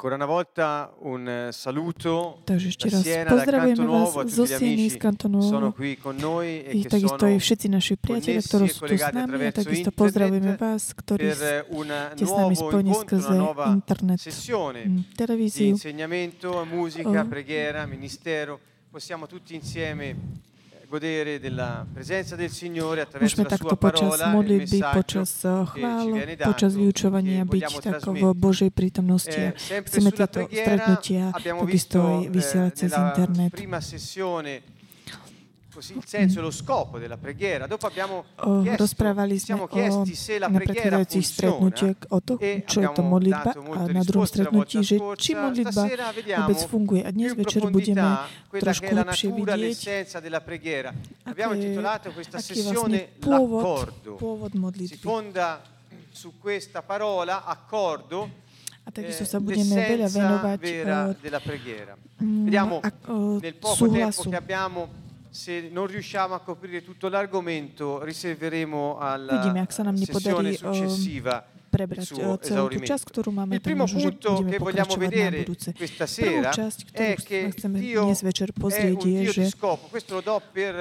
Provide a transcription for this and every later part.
Ancora una volta un saluto Takže ešte da raz Siena, da pozdravujeme Canto vás Nuovo, a zo tutti gli Sieny, z amici Kantonovo. sono qui con noi e che Takisto aj sono všetci naši priatelia, ktorí connessi e sú tu s collegati nami, a attraverso takisto pozdravujeme internet vás, ktorí per un ste s nami nuovo spojení incontro, una skrze nuova internet, sessione di televíziu. insegnamento, musica, preghiera, ministero. Possiamo tutti insieme godere della presenza del Signore attraverso Môžeme la takto sua počas parola, il modlitby, messaggio počas che ci chvál, viene počas dato, vyučovania che byť vogliamo tak v trasmettere. Božej prítomnosti. Sempre Chceme sulla tieto preghiera stretnutia abbiamo takisto visto aj vysielať cez nella internet. prima sessione così il senso e lo scopo della preghiera. Dopo abbiamo Rozprávali sme siamo o, chiesti se la na preghiera predchádzajúcich funziona stretnutiach o to, e čo je to abbiamo modlitba, dato a molte na druhom risposte la stretnutí, volta že scorsa. či modlitba Stasera vediamo vôbec funguje. A dnes più in večer budeme profondità quella trošku che è la hlbšie natura, vidieť, l'essenza della preghiera. Abbiamo aký intitolato questa je vlastne sessione l'accordo. pôvod Si modlitby. fonda su questa parola accordo, A takisto sa budeme veľa l'essenza venovať vera della preghiera. Vediamo nel poco tempo súhlasu. che abbiamo, se non riusciamo a coprire tutto l'argomento, riserveremo alla Vidíme, ak sa nám sessione nepodarí successiva il prebrať suo celú tú časť, esaurimento. ktorú máme, Il tak primo možno, že punto budeme che vogliamo pokračovať na vedere budúce. questa Prvú sera časť, è ktorú che chceme Dio dnes večer è pozrieť, un je, Dio že di scopo. Questo lo do per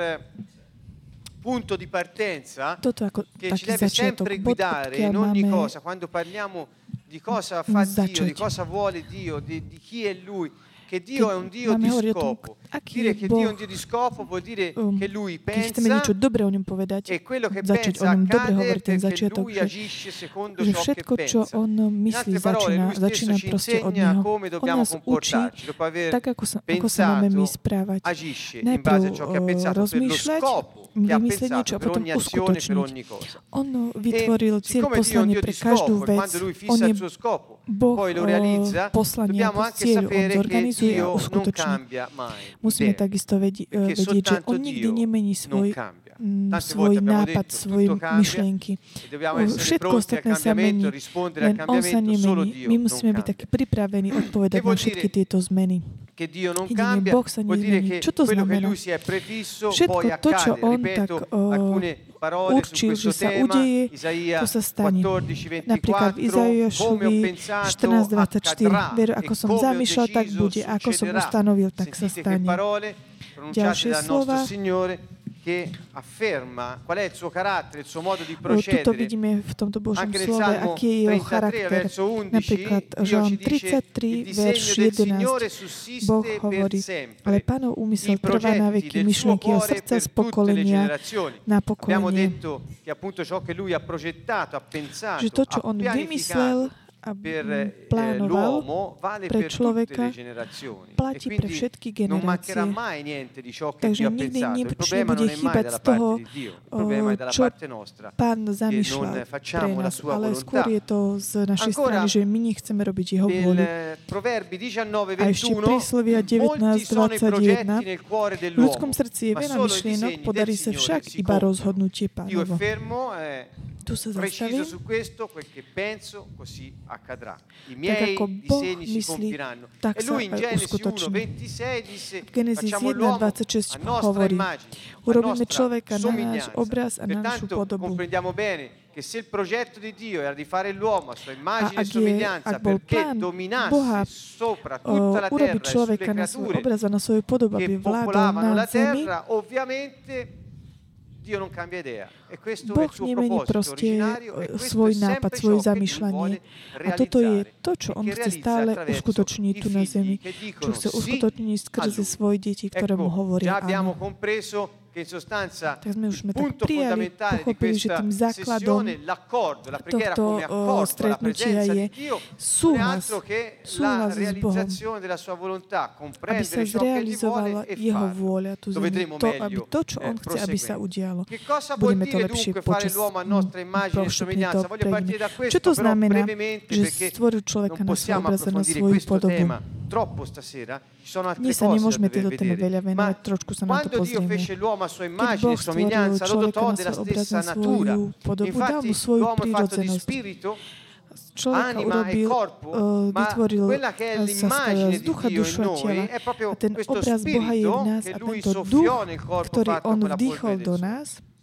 punto di partenza, toto ako che ci taký deve začiatok, sempre bod, guidare odkiaľ in ogni máme cosa, quando parliamo di cosa fa Dio, začať. di cosa vuole Dio, di chi è Lui, che Dio è un Dio máme di hovoriť o tom, scopo. aký Dire je che Dio è un Boh, Dio di scopo vuol dire che Lui keď chceme niečo pensa dobre o ňom povedať, e quello che začať o pensa ňom dobre accade hovoriť ten perché začiatok, Lui že, agisce secondo že ciò che všetko, čo pensa. on In myslí, altre parole, Lui začína stesso ci proste od insegna Neho. come On dobbiamo nás učí, comportarci, dopo aver tak ako sa máme my pensato, správať. agisce in Najprv base a ciò che ha pensato per lo rozmýšľať, scopo che ha vymyslieť niečo pensato a per potom ogni azione, per uskutočniť. ogni cosa. On vytvoril cieľ Siccome Dio è un poslanie Dio pre di každú scopo e vec. quando Lui On fissa je il suo scopo, Boh poi lo realizza, poslania, dobbiamo ako anche cieľ, on sapere che zorganizuje a Dio non uskutoční. cambia mai Musíme idea, takisto perché vedieť, že soltanto on nikdy Dio nemení non svoj, cambia. Tante svoj volte abbiamo nápad, detto svoje tutto cambia myšlienky. e dobbiamo essere Všetko pronti al ostatné sa cambiamento, mení, rispondere al len on sa cambiamento, solo nemení. Dio My non musíme byť takí cambia. pripravení odpovedať Che vuol na všetky dire tieto zmeny. che Dio non Jedine cambia, Boh sa vuol dire nezmení. che Čo to quello che znamená? Lui si è prefisso Všetko poi to, čo accade. on Ripeto tak alcune parole su určil, questo že sa tema, udeje, Isaia to sa stane. 14:24, Napríklad v come ho Izaiášovi pensato 14:24. accadrà Veru, e ako som come ho zamýšľal, tak deciso bude. Ako som succederà. ustanovil, tak sa Sentite che stane. parole pronunciate Ďalšie dal nostro slova. Signore che afferma qual è il suo carattere, il suo modo di Tuto procedere. vidíme v tomto Božom Anche nel slove, Salmo aký je jeho 33, charakter. verso 11, Napríklad Dio Žalm ci dice: il 33, disegno verš del Signore 11. sussiste Boh per hovorí, sempre. ale Pánov úmysel I trvá na progetti veky, del suo myšlienky jeho cuore srdca per z tutte le pokolenia generazioni. na Abbiamo pokolenie. detto che appunto ciò che lui ha progettato, ha pensato, Že to, čo ha on vymyslel pianificato a per plánoval l'uomo vale pre per tutte človeka, le generazioni. E platí pre quindi všetky non mancherà generácie. mai niente di ciò che Takže Dio ha nikdy pensato. Il nič problema nebude non è mai chýbať dalla z toho, parte di Dio, il problema è dalla čo parte nostra. Pán non zamýšľal pre facciamo la nás, sua ale volontà. skôr je to z našej Ancora, strany, že my nechceme robiť jeho vôľu. Nel Proverbi A ešte 19:21 príslovia molti sono i progetti 19:21. nel cuore V ľudskom dell'uomo, srdci je ma veľa solo i myšlienok, disegni podarí del sa Signore však si iba compiono. rozhodnutie Io è Pánovo. fermo, Tu sa preciso zastavím, su questo, quel che penso, così accadrà. I tak miei ako Boh disegni si myslí, compiranno. tak E sa lui in Genesi uskutoční. 1:26 disse: V Genesis facciamo l'uomo 1:26 a nostra hovorí, immagine, a urobíme nostra človeka na náš somiglianza. obraz a na našu Pertanto podobu. comprendiamo bene che se il progetto di Dio era di fare l'uomo a sua immagine e ak somiglianza bol perché plán dominasse Boha sopra tutta la terra urobiť e sulle človeka na svoj creature obraz a na svoju podobu, che aby vládol popolavano na la zemi, terra, ovviamente Dio non cambia idea e questo è Boh il suo nemení proposito proste originario e questo svoj è nápad, sempre svoje ciò che Dio zamýšľanie. vuole A toto je realizzare to, čo e on che chce realizza stále attraverso uskutočniť i tu na zemi, figli che čo dicono chce sì uskutočniť a skrze Lui. svoje deti, ktoré mu Ecco, hovoria già abbiamo áno. compreso che in sostanza Tak sme už il tak punto prijali, fondamentale di pochopili, že questa tým základom sessione, l'accordo, la preghiera tohto come accordo alla stretnutia presenza je di Dio, non è súhlas, altro che la súhlas s Bohom, realizzazione della sua volontà, aby sa comprendere ciò che Egli zrealizovala vuole e jeho farlo. vôľa tu Lo zemi, vedremo to, aby meglio to, čo on chce, aby sa proseguendo. udialo. Che cosa vuol Budeme to dire lepšie dunque fare počas l'uomo a nostra immagine e postupne to somiglianza? Voglio partire prejdeme. da Čo questo, to però znamená, brevemente, že perché stvoril človeka non na svoj possiamo obraz a na approfondire svoju questo podobu. tema troppo stasera, ci sono altre Dnes sa cose da nemôžeme dover tejto téme vedere. veľa Ma venovať, trošku sa na to quando Dio pozrieme. fece l'uomo a sua Keď immagine Boh e stvoril somiglianza, lo človeka dotò na della svoj obraz, stessa na natura. svoju podobu, dal mu Infatti svoju l'uomo è fatto di prírodzenosť. spirito, Človeka anima e urobil, corpo, ma vytvoril quella che è sa l'immagine z di ducha, Dio dušu in a tela. noi è proprio A ten questo obraz Boha je v spirito nás che a Lui tento duch, soffiò nel corpo ktorý fatto on con la vdýchol polvere del do sole. nás,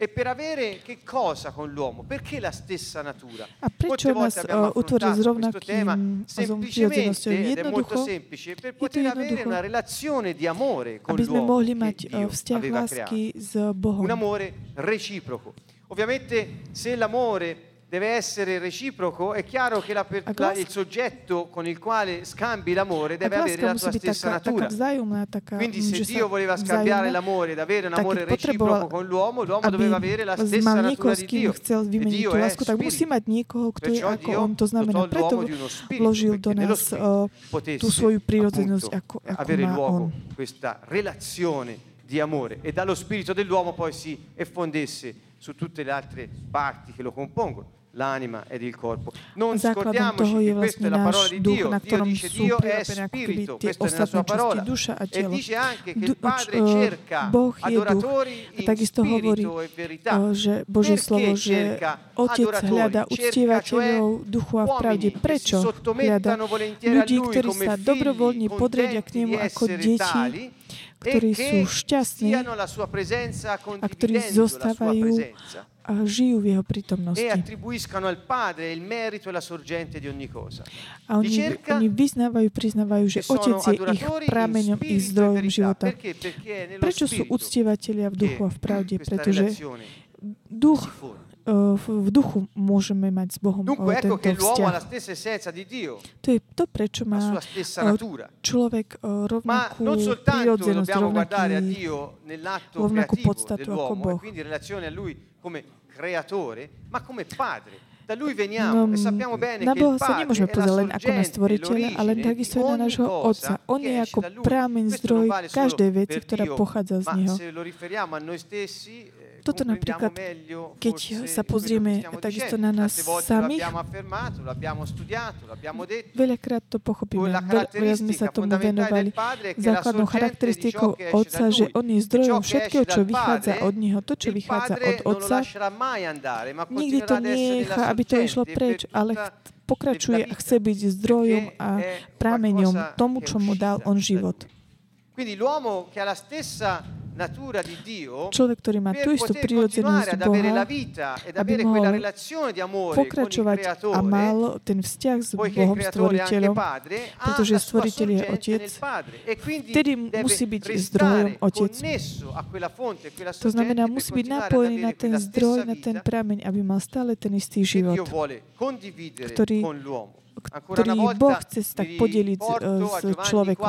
E per avere che cosa con l'uomo? Perché la stessa natura? A prečo nás utvoril s rovnakým prirodzenosťou? Ed è molto Jednoducho, semplice, per poter avere una relazione di amore con aby sme l'uomo mohli che mať Dio vzťah aveva lásky creato. s Bohom. Un amore reciproco. Ovviamente se l'amore deve essere reciproco, è chiaro che il soggetto con il quale scambi l'amore deve avere la tua stessa natura. Quindi se Dio voleva scambiare l'amore ed avere un amore reciproco con l'uomo doveva avere la stessa natura di Dio. E Dio è spirito. Perciò Dio dotò l'uomo di uno spirito, perché nello spirito potesse appunto avere luogo questa relazione di amore e dallo spirito dell'uomo poi si effondesse su tutte le altre parti che lo compongono, l'anima ed il corpo. Non scordiamoci che questa è la parola di Dio. Dio dice Dio è spirito, questa è nella sua parola. E dice anche che il Padre cerca adoratori in spirito e verità. Perché cerca adoratori? Cerca cioè uomini che si sottomettano volentieri a Lui come figli contenti di essere tali e che stiano alla sua presenza condividendo la sua presenza. A žijú v jeho prítomnosti. E attribuiscano al Padre il merito e la sorgente di ogni cosa. A oni priznávajú, že Otec je ich prameňom, ich zdrojom života. Prečo sú uctievatelia v duchu a v pravde? Pretože v duchu môžeme mať s Bohom tento vzťah. To je to, prečo má človek rovnakú prirodzenosť, rovnakú podstatu ako Boh. Come creatore, ma come padre. Da lui veniamo e sappiamo bene na che Boha il sa padre nemôžeme è la pozerať len ako na sorgente, stvoriteľa, ale takisto aj na nášho Otca. On je ako prameň, zdroj každej veci, ktorá pochádza z Neho. Toto napríklad, keď sa pozrieme takisto na nás samých, veľakrát to pochopíme, veľa sme sa tomu venovali. Základnou charakteristikou Otca, že On je zdrojom všetkého, čo vychádza od Neho. To, čo vychádza od Otca, nikdy to necha, aby to išlo preč, ale pokračuje a chce byť zdrojom a prameňom tomu, čo mu dal On život. Quindi l'uomo che ha la stessa natura di Dio, človek, ktorý má tú istú prirodzenosť Boha, aby mohol pokračovať a mal ten vzťah s Bohom stvoriteľom, pretože stvoriteľ je Otec, vtedy musí byť zdrojom Otec. To znamená, musí byť napojený na ten zdroj, na ten prameň, aby mal stále ten istý život, ktorý Boh chce sa tak podeliť s človekom.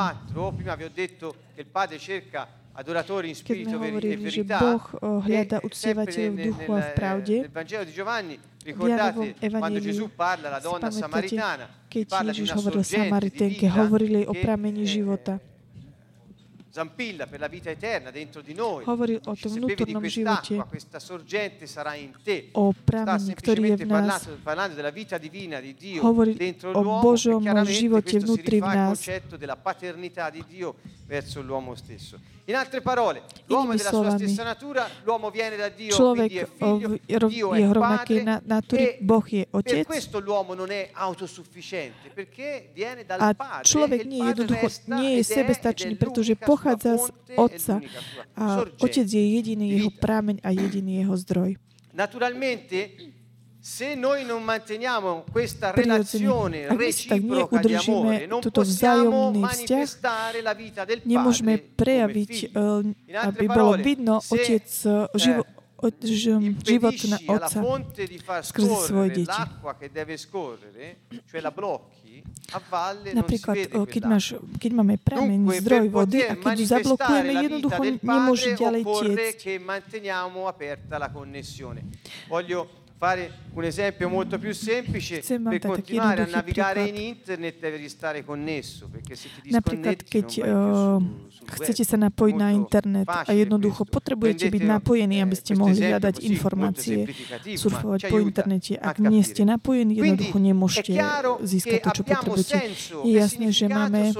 Keď sme hovorili, že Boh hľadá uctievateľov v duchu a v pravde, v Jánovom evanjeliu, spamätáte, keď Ježiš hovoril Samariténke, hovorili o pramení života. Zampilla per la vita eterna dentro di noi. Hovoril o tom vnútornom živote, questa sorgente sarà in te. O pramení, ktorý je v nás. Parlando della vita divina di Dio o dentro l'uomo, Božom živote vnútri v nás. Il concetto della paternità di Dio verso l'uomo stesso. In altre parole, l'uomo è della sua stessa natura, l'uomo viene da Dio, quindi è figlio, Dio è padre, per questo l'uomo non è autosufficiente, perché viene dal Padre, človek nie je sebestačný, pretože pochádza z Otca a Otec je jediný jeho prameň a jediný jeho zdroj. Naturalmente, se noi non manteniamo questa relazione reciproca di amore, non possiamo manifestare la vita del Padre nemôžeme prejaviť, aby bolo vidno Otec život na Otca skrze svoje deti. Napríklad, keď máme prameň, zdroj vody a keď ju zablokujeme, jednoducho nemôže ďalej tiecť. Fare un esempio molto più semplice per continuare a navigare in internet devi stare connesso, perché se ti disconnetti chcete sa napojiť na internet a jednoducho potrebujete byť napojení, aby ste mohli hľadať informácie, surfovať po internete. Ak nie ste napojení, jednoducho nemôžete získať to, čo potrebujete. Je jasné, že máme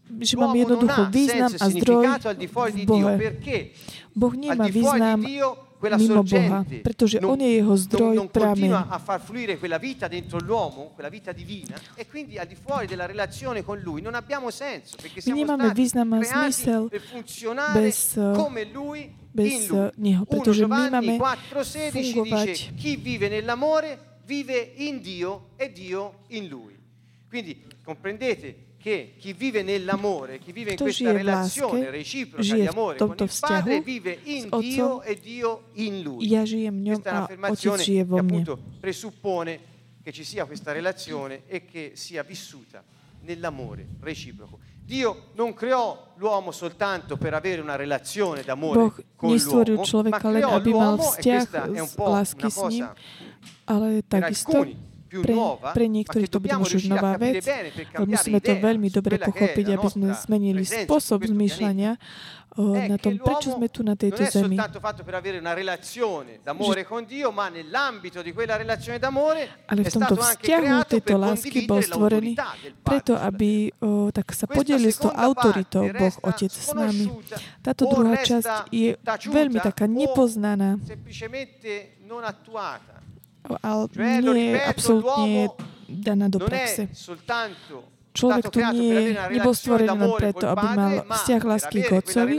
jednoducho význam a zdroj v Bohe. Boh nemá význam mimo Boha, pretože on je jeho zdroj, prameň. A far fluire quella vita dentro l'uomo, quella vita divina, e quindi al di fuori della relazione con lui non abbiamo senso, perché siamo stati creati per funzionare come lui in lui. Neho, 1 Giovanni 4,16 dice: chi vive nell'amore vive in Dio e Dio in lui. Quindi comprendete che chi vive nell'amore, chi vive in questa relazione reciproca di amore con il Padre, vive in Dio e Dio in lui. Questa è un'affermazione che appunto presuppone che ci sia questa relazione e che sia vissuta nell'amore reciproco. Dio non creò l'uomo soltanto per avere una relazione d'amore con l'uomo, ma creò l'uomo, e questa è un po' una cosa per alcuni più nuova, pre niektorých to bude možno nová vec, ale musíme to veľmi dobre pochopiť, aby sme zmenili spôsob zmýšľania na tom, prečo sme tu na tejto zemi. Ale v tomto vzťahu tejto lásky bol stvorený preto, aby tak sa podelil s tou autoritou Boh Otec s nami. Táto druhá časť je veľmi taká nepoznaná, ale nie je absolútne daná do praxe. Človek tu nebol stvorený len preto, aby mal vzťah lásky k Otcovi,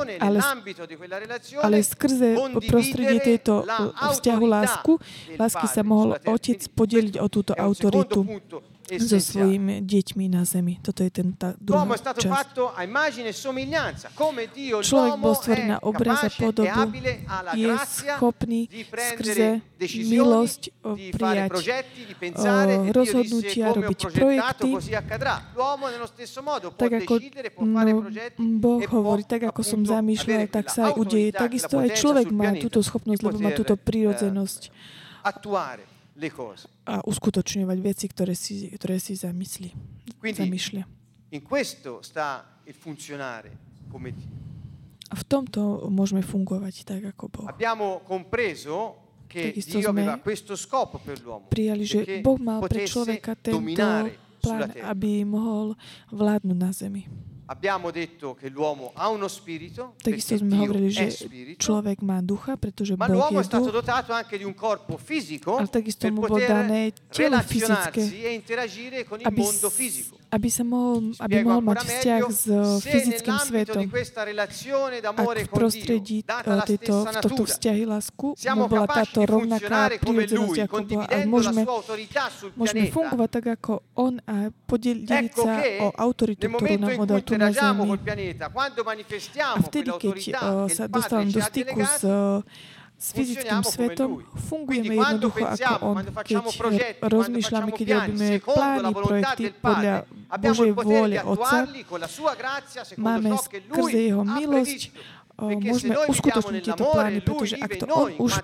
ale skrze prostredie tejto vzťahu lásky sa mohol Otec podeliť o túto autoritu so svojimi deťmi na zemi. Toto je tá druhá časť. Človek bol stvorený na obraz a podobu, je schopný skrze milosť prijať rozhodnutia, robiť projekty. Tak ako Boh hovorí, tak ako som zamýšľal, tak sa aj udeje. Takisto aj človek má túto schopnosť, lebo má túto prirodzenosť a uskutočňovať veci, ktoré si zamýšľa. A v tomto môžeme fungovať tak, ako Boh. Takisto sme prijali, že Boh mal pre človeka tento plán, aby mohol vládnuť na zemi. Takisto sme hovorili, že človek má ducha, pretože Boh je duch, ale takisto mu bolo dané telo fyzické, aby mohol mať vzťah s fyzickým svetom. Ak v prostredí tohto vzťahy lásku mu bola táto rovnaká prirodzenosť, ako bola, ale môžeme fungovať tak, ako on a podeliť sa o autoritu, ktorú nám odal tu na zemi. A vtedy, keď sa dostávam do styku s fyzickým svetom, fungujeme jednoducho ako on. Keď rozmýšľame, keď robíme plány, projekty podľa Božej vôle Otca, máme skrze jeho milosť, môžeme uskutočniť tieto plány, pretože ak to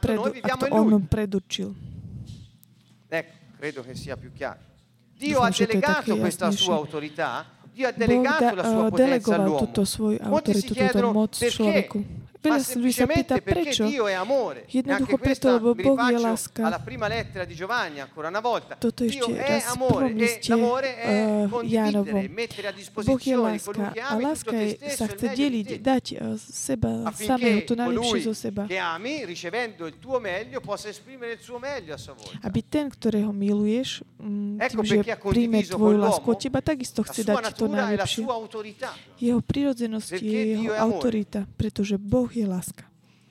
on predurčil. Credo che sia più chiaro. Dio ha delegato questa sua autorità, Dio ha delegato la sua potenza all'uomo. Molti si chiedono perché. Ma semplicemente perché Dio è amore. Anche questa rifaccio alla prima lettera di Giovanni ancora una volta. Dio è amore e l'amore è condividere, mettere a disposizione colui che ami tutto te stesso e dať seba samého, to najlepšie zo seba. Che ami, ricevendo il tuo meglio, possa esprimere il suo meglio a sua volta. Aby ten, ktorého miluješ, tým, že príjme tvoju lásku od teba, takisto chce dať to najlepšie. Jeho prirodzenosť je jeho autorita, pretože Boh je láska.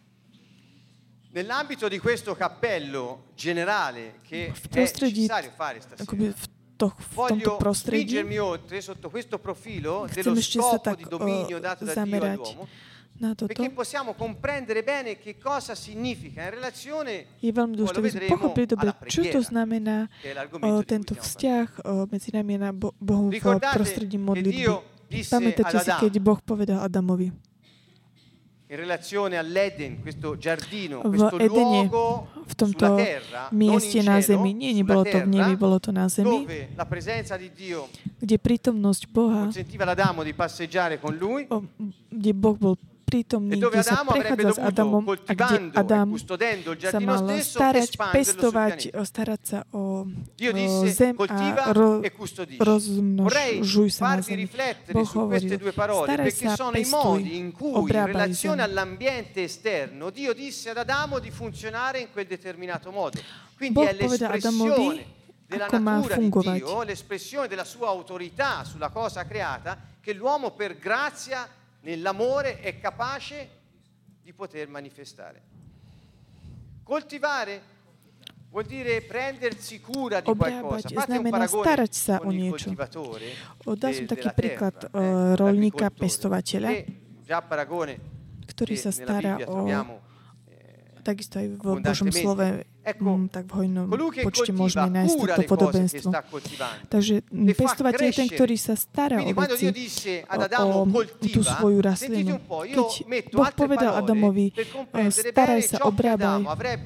Nell'ambito di questo cappello generale che è necessario fare stasera, voglio spingermi oltre sotto questo profilo dello scopo di dominio dato da Dio all'uomo, perché possiamo comprendere bene che cosa significa in relazione, je veľmi dôležité pochopiť dobre, čo to znamená tento vzťah medzi nami a Bohom v prostredí modlitby. Pamätáte si, keď Boh povedal Adamovi, in relazione all'Eden, questo giardino, questo luogo sulla terra, non in cielo, nebolo to v nebi, bolo to na zemi, dove la presenza di Dio kde prítomnosť Boha consentiva ad Adamo di passeggiare con lui, kde Boh bol prítomný, kde sa prechádza s Adamom a kde Adam sa mal starať sa o zem a rozmnožuj sa na zemi. Boh hovoril, staraj sa, pestuj, obrábaj zem. Dio disse ad Adamo di funzionare in quel determinato modo. Quindi Boh è povedal Adamovi, della ako má natura fungovať. di Dio, l'espressione della sua autorità sulla cosa creata, che l'uomo per grazia nell'amore è capace di poter manifestare. Coltivare vuol dire prendersi cura di qualcosa. Fate un paragone con il coltivatore Dal som taký príklad roľníka, pestovateľa, ktorý sa stará o, takisto aj v Božom slove, tak v hojnom počte môžeme nájsť toto podobenstvo. Takže pestovateľ je ten, ktorý sa stará o veci, o tú svoju rastlinu. Keď Boh povedal Adamovi, staraj sa, obrábaj,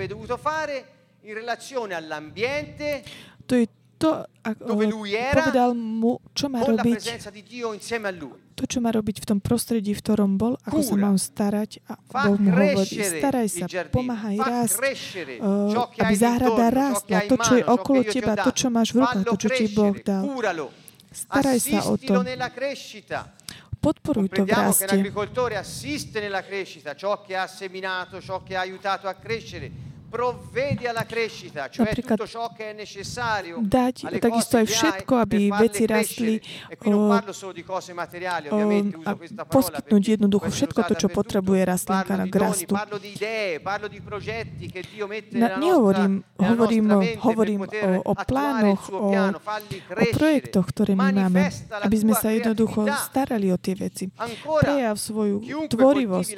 to je to, povedal mu, čo má robiť, to, čo má robiť v tom prostredí, v ktorom bol, ako sa mám starať. A Boh mu hovorí, staraj sa, pomáhaj rásť, aby záhrada rástla, to, čo je okolo teba, to, čo máš v rukách, to, čo ti Boh dal. Staraj sa o to. Podporuj to v raste. L'agricoltore assiste nella crescita, ciò che ha seminato, ciò che ha aiutato a crescere. Provvede alla crescita, cioè tutto ciò che è necessario dať takisto aj všetko, aby veci rastli, poskytnúť jednoducho všetko to, čo potrebuje rastlinka na rastu. Hovorím o plánoch, o projektoch, ktoré my máme, aby sme sa jednoducho starali o tie veci. Prejav svoju tvorivosť.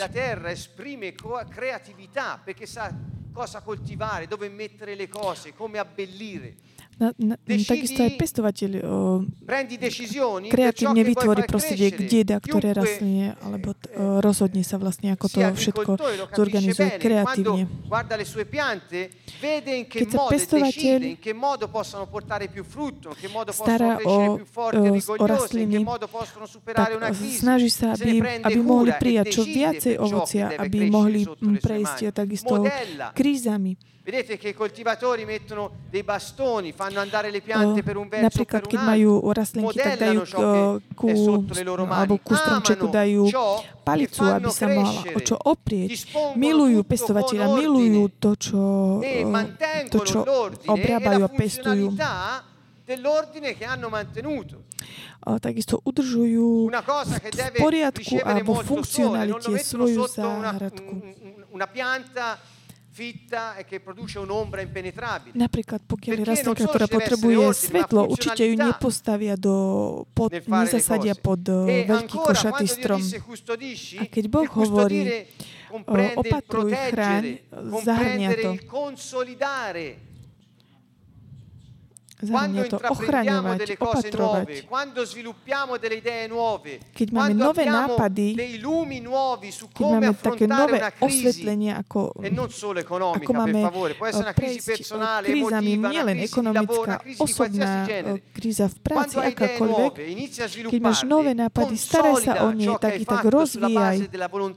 Cosa coltivare, dove mettere le cose, come abbellire. Takisto aj pestovateľ kreatívne vytvorí prostredie, kde dá ktoré rastline, alebo rozhodne sa vlastne, ako to všetko zorganizuje kreatívne. Keď sa pestovateľ stará o rastliny, tak snaží sa, aby mohli prijať čo viacej ovocia, aby mohli prejsť takisto krízami. Vedete che i coltivatori mettono dei bastoni, fanno andare le piante per un verso o per un altro. Napríklad, keď majú rastlinky, tak dajú ku stromčeku dajú palicu, aby sa mala o čo oprieť. Milujú pestovateľa, milujú to, čo obrábajú a pestujú. Dell'ordine che hanno mantenuto. Takisto udržujú v poriadku a vo funkcionalite svoju záhradku. Una pianta fitta e che produce un'ombra impenetrabile. Napríklad, pokiaľ je rastlinka, ktorá potrebuje svetlo, určite ju nepostavia nezasadia pod veľký košatý strom. A keď Boh hovorí, opatruj, chráň, zahrňa to. Zahrňa to ochraňovať, opatrovať. Keď máme nové nápady, keď máme také nové osvetlenie, ako máme prejsť krízami, nielen ekonomická, osobná kríza v práci, akákoľvek, keď máš nové nápady, staraj sa o ne, tak ich tak rozvíjaj.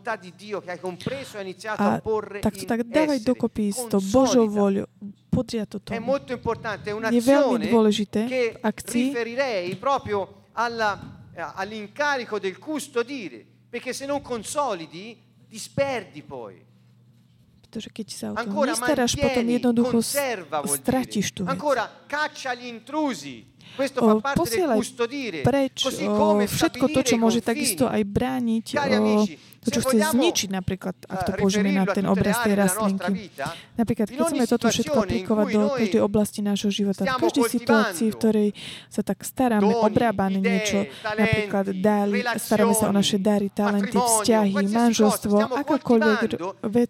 A tak dávaj dokopy s tou Božou voľou. È molto importante, è je veľmi dôležité v akcii, riferirei proprio all'incarico del custodire, perché se non consolidi disperdi poi. Pretože keď sa o to nestaráš, potom jednoducho stratíš tú vec. Ancora caccia gli intrusi. Posielaj preč všetko to, čo môže takisto aj brániť, to, čo chce zničiť, napríklad, ak to použijeme na ten obraz tej rastlinky. Napríklad, keď chceme toto všetko aplikovať do každej oblasti nášho života, v každej situácii, v ktorej sa tak staráme, obrábame niečo, napríklad staráme sa o naše dary, talenty, vzťahy, manželstvo, akákoľvek vec,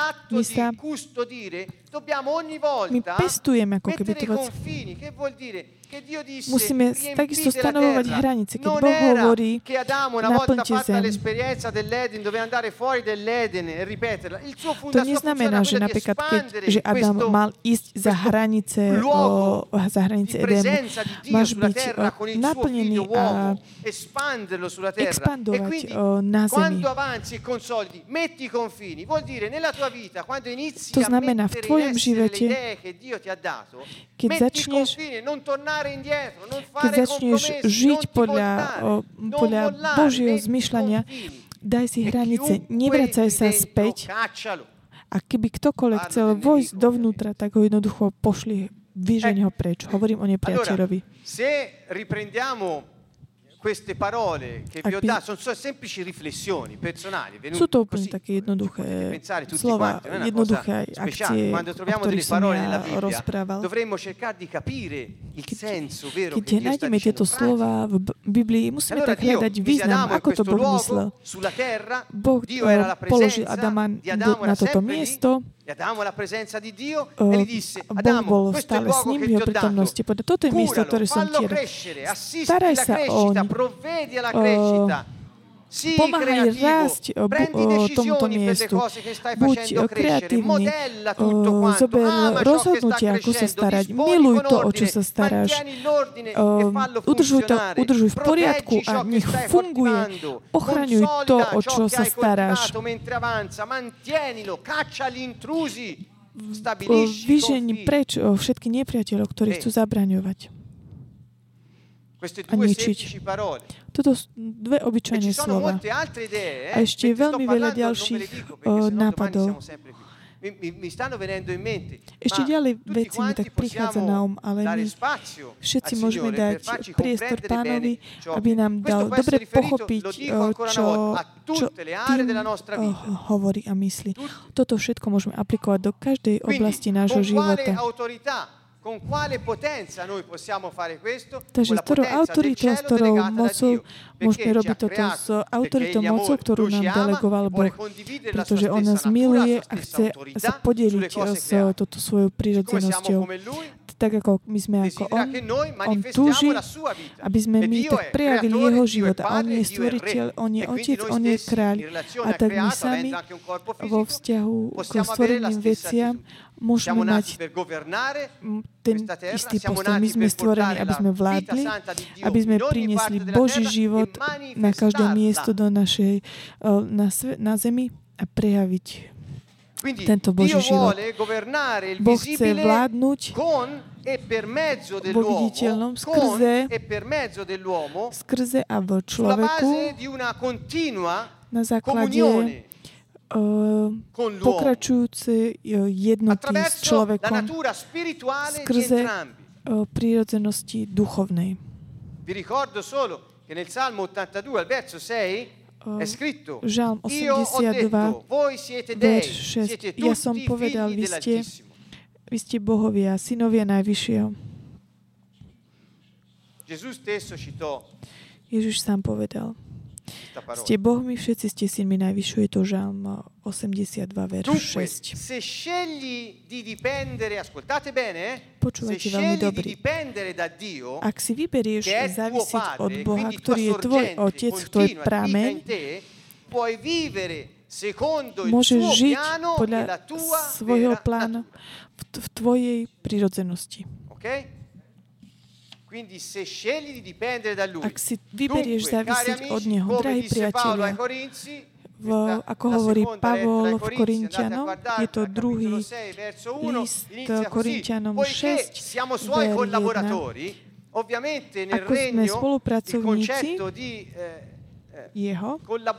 my pestujeme ako keby to vec. Musíme takisto stanovovať hranice. Keď Boh hovorí, naplňte zem, To neznamená, že napríklad, že Adam mal ísť za hranice Edenu. Máš byť naplnený a expandovať na zemi. To znamená, v tvojom živote, keď začneš žiť podľa Božieho zmyšľania, daj si hranice, nevracaj sa späť. A keby ktokoľvek chcel vojsť dovnútra, tak ho jednoducho pošli, vyžeň ho preč. Hovorím o nepriateľovi. Queste parole che vi ho dato sono semplici riflessioni personali sú to úplne také jednoduché slova, jednoduché akcie, o ktorých som ja rozprával. Keď nájdeme tieto slova v Biblii, musíme tak hľadať význam, ako to Boh myslel. Boh položil Adama na toto miesto, Boh bol stále s ním v jeho prítomnosti. Toto je miesto, ktoré som ti dal. Staraj sa oň. Pomáhaj rásť tomuto miestu. Buď kreatívny. Zober rozhodnutia, ako sa starať. Miluj to, o čo sa staráš. Udržuj v poriadku a nech funguje. Ochraňuj to, o čo sa staráš. Vyžeň preč všetky nepriateľov, ktorí chcú zabraňovať a ničiť. Toto sú dve obyčajné slova. A ešte veľmi veľa ďalších nápadov. Ešte ďalej veci mi tak prichádza na ale my všetci môžeme dať priestor Pánovi, aby nám dal dobre pochopiť, čo tým hovorí a myslí. Toto všetko môžeme aplikovať do každej oblasti nášho života. Takže s ktorou autoritou, s ktorou mocou môžeme robiť toto, s autoritou mocou, ktorú nám delegoval Boh, pretože On nás miluje a chce sa podeliť s touto svojou prírodzenosťou. Tak ako my sme ako On túži, aby sme my tak prejavili Jeho život. A On je stvoriteľ, On je Otec, On je kráľ. A tak my sami vo vzťahu k stvoreným veciam môžeme mať ten istý postoj. My sme stvorení, aby sme vládli, aby sme priniesli Boží život na každé miesto do našej, na zemi a prejaviť tento Boží život. Boh chce vládnuť vo viditeľnom skrze a v človeku na základe pokračujúce jednoty s človekom skrze prírodzenosti duchovnej. Žalm 82, verš 6. Ja som povedal, vy ste bohovia, synovia Najvyššieho. Ježiš sám povedal. Ste bohmi, všetci ste synmi Najvyššieho. Je to Žalm 82, verš 6. Počúvajte veľmi dobrý. Ak si vyberieš závisiť od Boha, ktorý je tvoj Otec, tvoj prameň, môžeš žiť podľa svojho plánu v tvojej prirodzenosti. Ak si vyberieš závisiť od Neho, drahí priatelia, ako hovorí Pavol v Korinťanom, je to druhý list Korinťanom 6, ver 1. Ako sme spolupracovníci Jeho,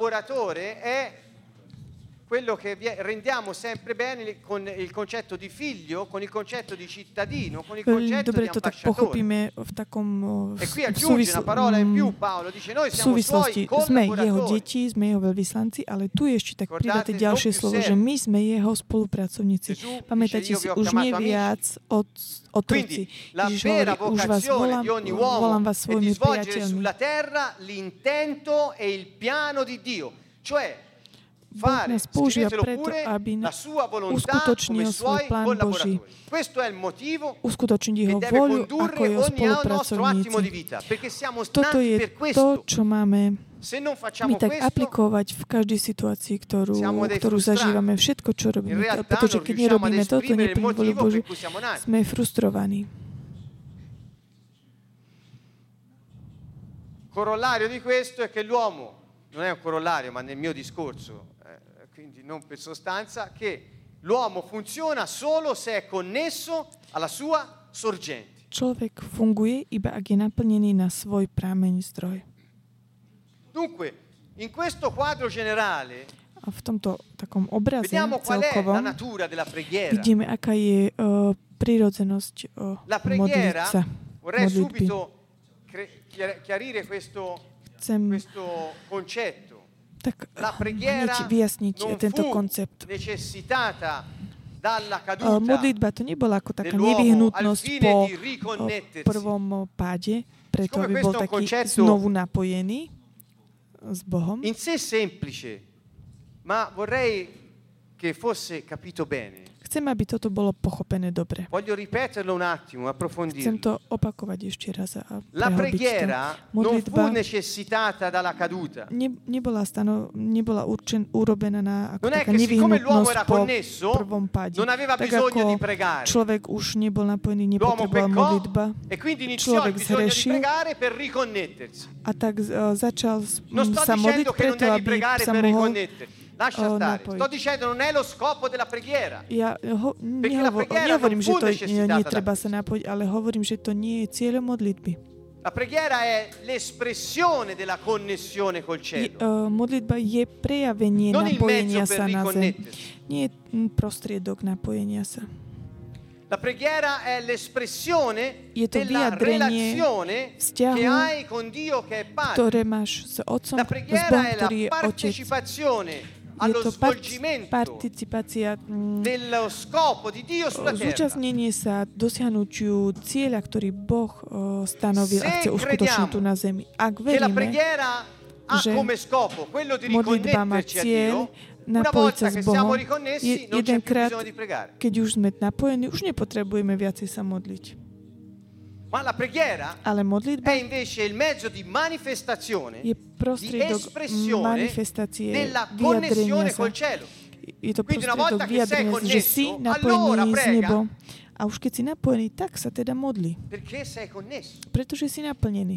quello che rendiamo sempre bene con il concetto di figlio, con il concetto di cittadino, con il concetto di ambasciatore. E qui aggiunge una parola in più, Paolo dice noi siamo suoi sme jeho deti, sme jeho veľvyslanci, ale tu je ešte tak pridaté ďalšie slovo, že my sme jeho spolupracovníci. Pamätajte si, už nie viac otroci. Ježiš hovorí, už vás volám vás svojimi priateľmi. Sulla terra l'intento e il piano di Dio, cioè Boh nás používa preto, aby uskutočnil svoj plán Boží. Uskutočniť jeho voľu ako jeho spolupracovníci. Toto je to, čo máme my tak aplikovať v každej situácii, ktorú zažívame, všetko, čo robíme. Pretože keď nerobíme toto, neplní vôľu Božiu, sme frustrovaní. Corollario di questo è che l'uomo, non è un corollario, ma nel mio discorso, quindi non per sostanza, che l'uomo funziona solo se è connesso alla sua sorgente. Človek funguje, iba ak je naplnený na svoj prameň zdroj. Dunque, in questo quadro generale, a v tomto takom obraze vediamo qual è celkovom la natura della preghiera. Vidíme, aká je prírodzenosť modliť sa. Vorrei subito chiarire questo concetto. Tak la preghiera vyjasniť tento koncept. Modlitba to nebola ako taká nevyhnutnosť po prvom páde, preto aby bol taký znovu napojený s Bohom. In sé semplice, ma vorrei che fosse capito bene. Chcem, aby toto bolo pochopené dobre. Voglio ripeterlo un attimo, approfondirlo. Chcem to opakovať ešte raz a la preghiera non fu modlitba necessitata dalla caduta. Nebola urobená na ako taká nevyhnutnosť po prvom páde. Non aveva tak bisogno di ako pregare. človek už nebol napojený, nepotreboval modlitba. E quindi iniziò il bisogno di pregare per riconnettersi. A tak začal sa modliť preto, aby sa mohol Lascia stare. Sto dicendo non è lo scopo della preghiera. Ja nehovorím, že to netreba sa napojiť, ale hovorím, že to nie je cieľom modlitby. La preghiera è l'espressione della connessione col cielo. Modlitba je prejavenie napojenia sa na zem. Nie je prostriedok napojenia sa. La preghiera è l'espressione della relazione che hai con Dio che è Padre. Ktoré máš s Otcom, la preghiera è la partecipazione allo svolgimento dello scopo di Dio sulla terra. Zúčastnenie sa dosiahnutiu cieľa, ktorý Boh stanovil a chce uskutočniť tu na zemi. Ak veríme, že modlitba má cieľ napojiť sa s Bohom, jedenkrát, keď už sme napojení, už nepotrebujeme viacej sa modliť. Ma la preghiera è invece il mezzo di manifestazione, di espressione della connessione col cielo. Je to prostriedok vyjadrenia, že si napojený s nebom. A už keď si napojený, tak sa teda modli. Pretože si naplnený.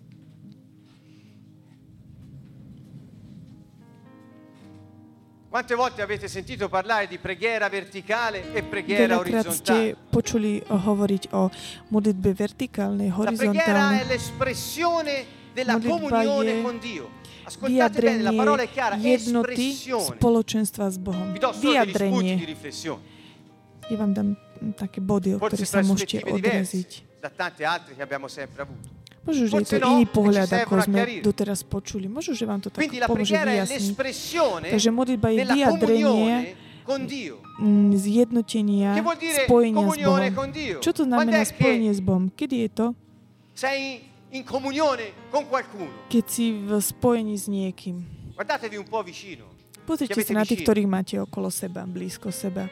Quante volte avete sentito parlare di preghiera verticale e preghiera orizzontale? Ste počuli hovoriť o modlitbe vertikálnej, horizontálnej. La preghiera è l'espressione della comunione con Dio. Ascoltate bene, la parola è chiara, jednoty spoločenstva s Bohom. Vyjadrenie. Ja vám dám také body, o ktoré sa môžete odraziť. Da tante altre che abbiamo sempre avuto. Možno, že je to iný pohľad, ako sme doteraz počuli. Možno, že vám to tak pomôže vyjasniť. Takže modlitba je vyjadrenie zjednotenia, spojenia s Bohom. Čo to znamená spojenie s Bohom? Kedy je to? Keď si v spojení s niekým. Pozrite sa na tých, ktorých máte okolo seba, blízko seba.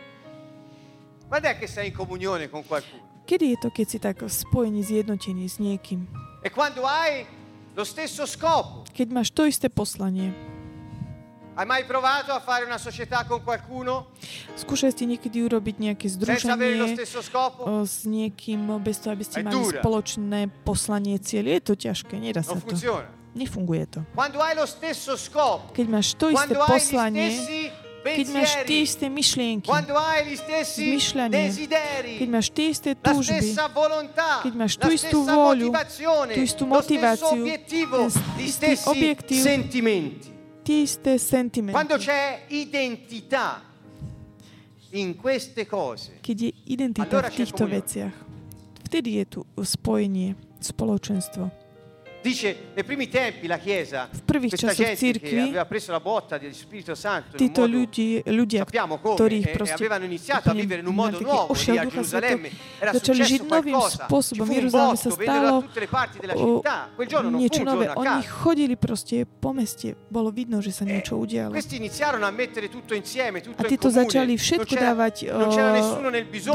Kedy je to, keď si tak v spojení, zjednotení s niekým? E quando hai lo stesso scopo. Keď máš to isté poslanie. Hai mai provato a fare una società con qualcuno? Skúšali ste niekedy urobiť nejaké združenie s niekým bez toho, aby ste mali spoločné poslanie, cieľ? Je to ťažké, nedá sa to. Nefunguje to. Quando hai lo stesso scopo. Keď máš to isté poslanie, keď máš tie isté myšlienky, zmyšľanie, keď máš tie isté túžby, keď máš tú istú vôľu, tú istú motiváciu, ten istý objektív, tie isté sentimenty. Keď je identita v týchto veciach, vtedy je tu spojenie, spoločenstvo. Dice, nei primi tempi la Chiesa, v prvých časoch cirkvi, títo ľudia, ktorých proste mali taký ošiel Ducha Svätého, začali žiť novým spôsobom. V Jeruzaleme sa stalo niečo nové. Oni chodili proste po meste. Bolo vidno, že sa niečo udialo. A títo začali všetko dávať,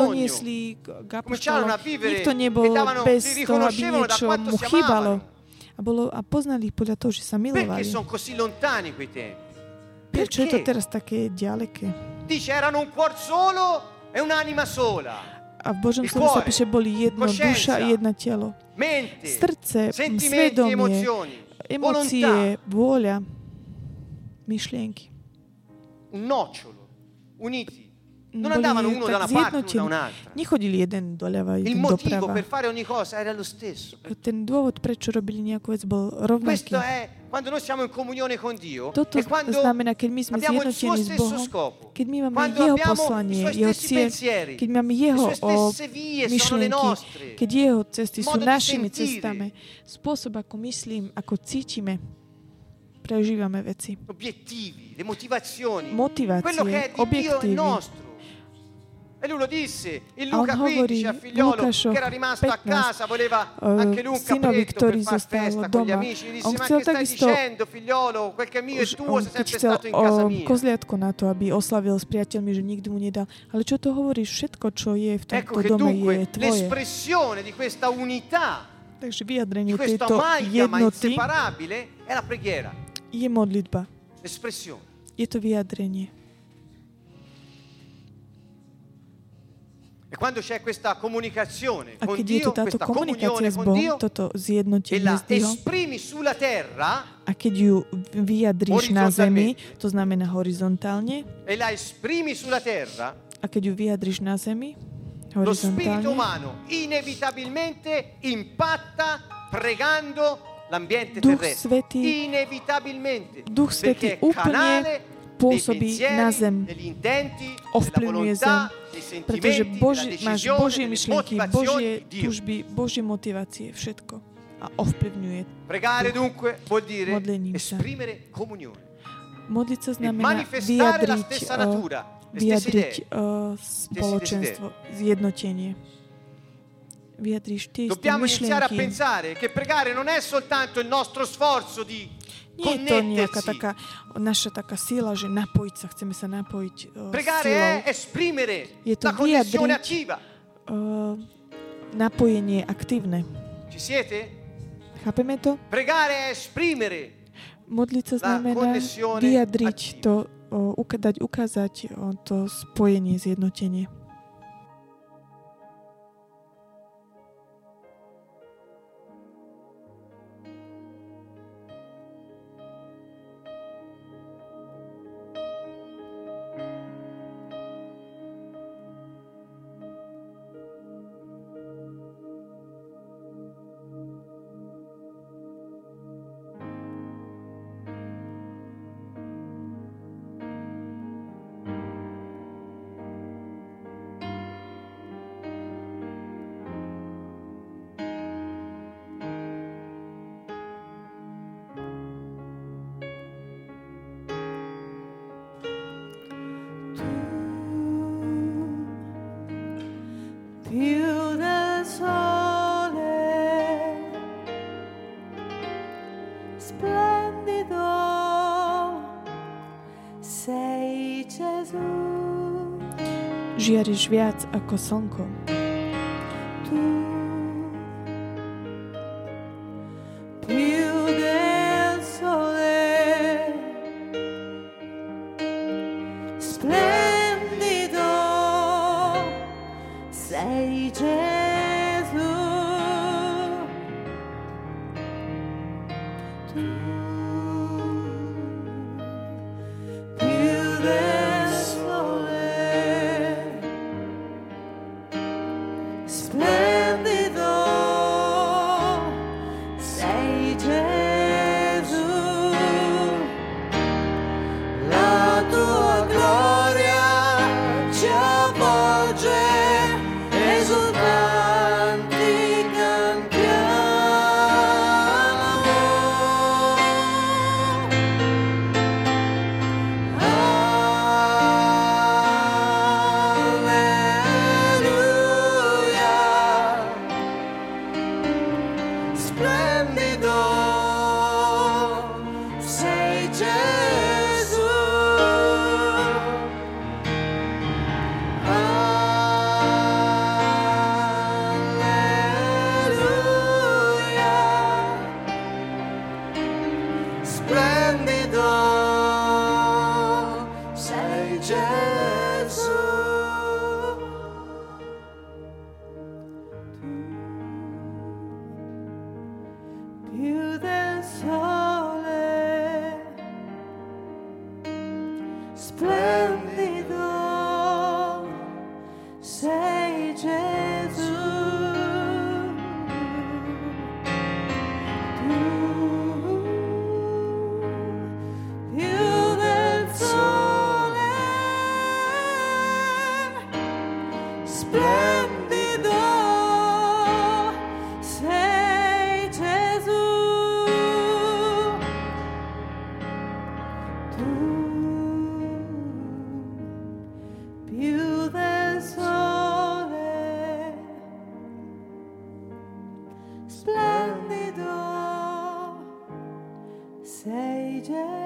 doniesli k apoštolom. Nikto nebol bez toho, aby niečo mu chýbalo. A poznali ich podľa toho, že sa milovali. Perché sono così lontani quei tempi? Prečo je to teraz také ďaleké? Dice, erano un cuor solo e un'anima sola. A v Božom slove sa píše, boli jedna duša a jedno telo. Srdce, svedomie, emócie, vôľa, myšlienky. Un nocciolo, uniti. Non andavano uno da una parte, uno da un'altra. Nechodili jeden doľava, Il jeden motivo doprava. per fare ogni cosa era lo stesso. Ten dôvod, prečo robili nejakú vec, bol rovnaký. Questo è quando noi siamo in comunione con Dio. Toto e quando znamená, keď my sme abbiamo il suo zjednotení s stesso Bohom, scopo. keď my máme Quando Jeho abbiamo poslanie, i suoi Jeho stessi cieľ, pensieri, keď máme Jeho le sue stesse vie sono le myšlienky, nostre, keď Jeho cesty sú modo di našimi sentire. cestami, spôsob, ako myslím, ako cítime, prežívame veci. obiettivi, le motivazioni, Motivácie, quello che è di Dio è objektívy. nostro. E lui lo disse in A on Luca hovorí 15 a figliolo Lukášovi che era rimasto a 15, casa, voleva anche lui un synovi, capretto ktorý per far zostal festa con gli doma. amici. Gli On disse, ma chcel che stai takisto, dicendo figliolo, quel che è mio è tuo, sei keď sempre chcel stato in casa mia. kozliatko na to, aby oslavil s priateľmi, že nikdy mu nedal. Ale čo to hovoríš? Všetko, čo je v Ecco tomto che dome, je dunque tvoje. l'espressione di questa unità, Takže di vyjadrenie questa tejto amalgama jednoty inseparabile è la preghiera, je modlitba. l'espressione. Je to vyjadrenie. E quando c'è questa comunicazione A con keď je Dio, to táto questa komunikácia comunione s con Bohom, Dio, toto e zjednotenie la s Dihom, esprimi sulla terra, a keď ju vyjadríš na zemi, to znamená horizontálne, e la esprimi sulla terra, a keď ju vyjadríš na zemi, lo spirito horizontálne, umano inevitabilmente impatta pregando l'ambiente Duch terrestre. Svätý, Inevitabilmente. Duch Svätý Perché è canale úplne pôsobí dei na pensieri, zem, degli intenti, della ovplyvňuje zem, volontà, dei pretože sentimenti, della máš decisione, Božie delle myšlienky, motivazioni Božie di Dio. túžby, Božie motivácie, všetko. A ovplyvňuje. Pregare dunque vuol dire Modlením sa. esprimere comunione. Modliť sa E znamená manifestare la vyjadriť, stessa natura, le stesse vyjadriť idee. spoločenstvo, zjednotenie. Vyjadriť tie isté Dobbiamo iniziare a myšlienky. pensare che pregare non è soltanto il nostro sforzo di Nie je to nejaká connettersi. taká naša taká sila, že napojiť sa, chceme sa napojiť Pregare silou. è esprimere Je to la connessione vyjadriť attiva. Napojenie aktívne. Ci siete? Chápeme to? Pregare è esprimere Modliť sa la znamená connessione vyjadriť attiva. to, ukázať to spojenie, zjednotenie. Più del sole, splendido sei Gesù. Žiariš viac ako slnko. Tu, più del sole, splendido sei Gesù. Tu, più del sole, splendido sei Gesù. La tua gloria ci avvolge, esultanti cantiamo. splendido sei Gesù. Più del sole, splendido sei Gesù. Più del sole, splendido sei Gesù. Più del sole, splendido sei Gesù.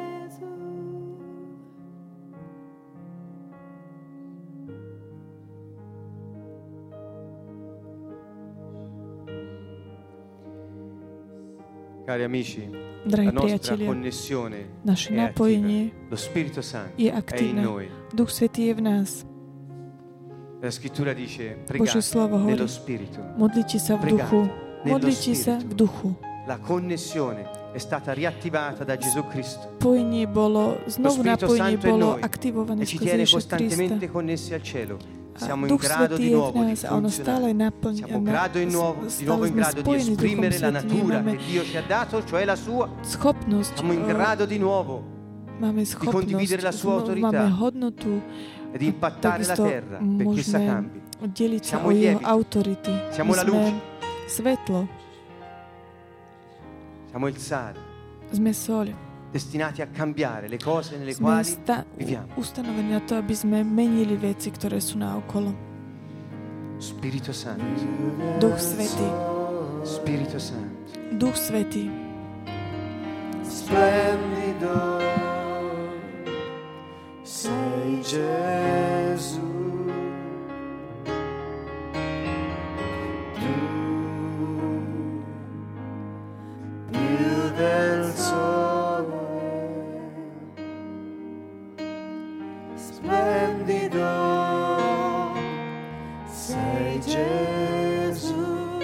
Cari amici, Drahí la nostra priatelia, connessione naše è napojenie attiva. Lo Spirito Santo je è in aktívne. noi. Duch Svätý je v nás. La scrittura dice: Božie pregate slovo hovorí, nello Spirito. modlite sa v Pregate duchu. nello Modlite sa v Spirito. duchu. La connessione è stata riattivata da Gesù Cristo Spojenie bolo, znovu Spirito napojenie Santo è in bolo noi aktivované e ci skrze tiene Ježiša Krista. costantemente connessi al cielo. A Siamo in Duch grado Svätý di je v nuovo di nás a ono stále funzionare. Siamo di nuovo in sme grado di spojení s Duchom esprimere la Svätým. natura Máme che Dio ci ha dato, cioè la sua. schopnosť, Siamo in grado di nuovo máme condividere la sua schopnosť, autorità máme hodnotu, e di impattare la takisto terra perché essa môžeme cambi. deliť sa Siamo o i jeho lieviti. autority. Siamo My la sme luce. svetlo, Siamo il sale, sme soľ. destinati a cambiare le cose nelle Sme quali viviamo. ustanovení na to, aby sme menili veci, ktoré sú naokolo. Spirito Santo, Duch Svätý, Spirito Santo. Duch Svätý, Splendido sei Gesù. Tu più del sole, splendido sei Gesù.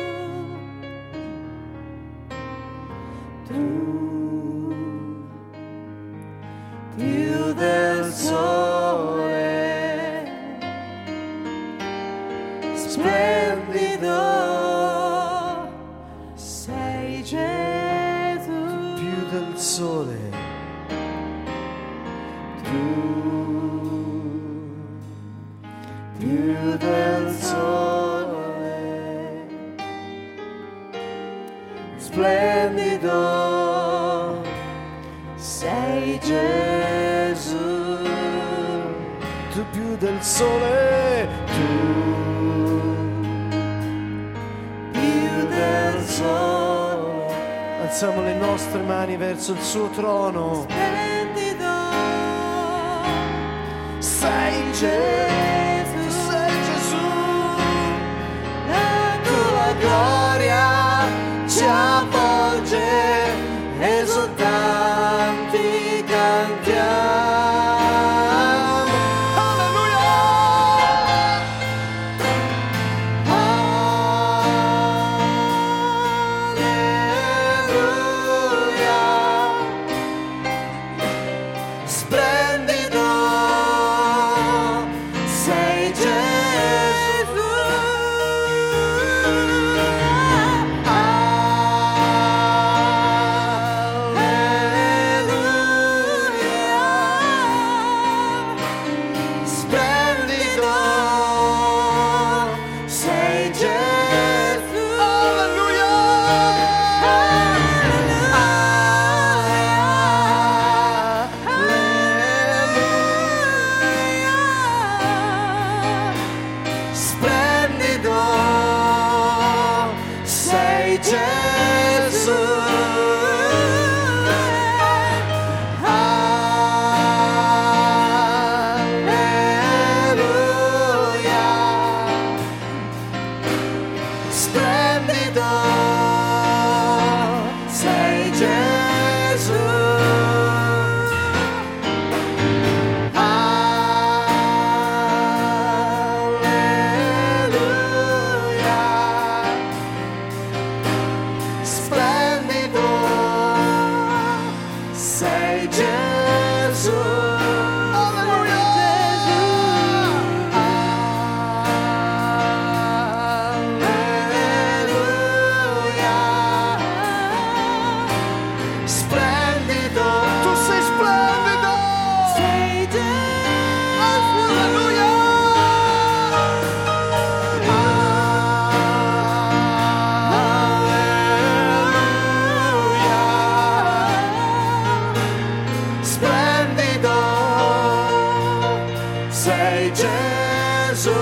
Tu più del sole, splendido sei Gesù. Più del sole, tu più del sole, splendido sei Gesù. Tu più del sole, tu più del sole. Alziamo le nostre mani verso il suo trono. Splendido sei Gesù, sei Gesù. La tua gloria ci avvolge, esultanti cantiamo. Alleluia! Alleluia! Splendido sei splendido, tu sei splendido, sei Gesù, alleluia. Splendido, sei Gesù.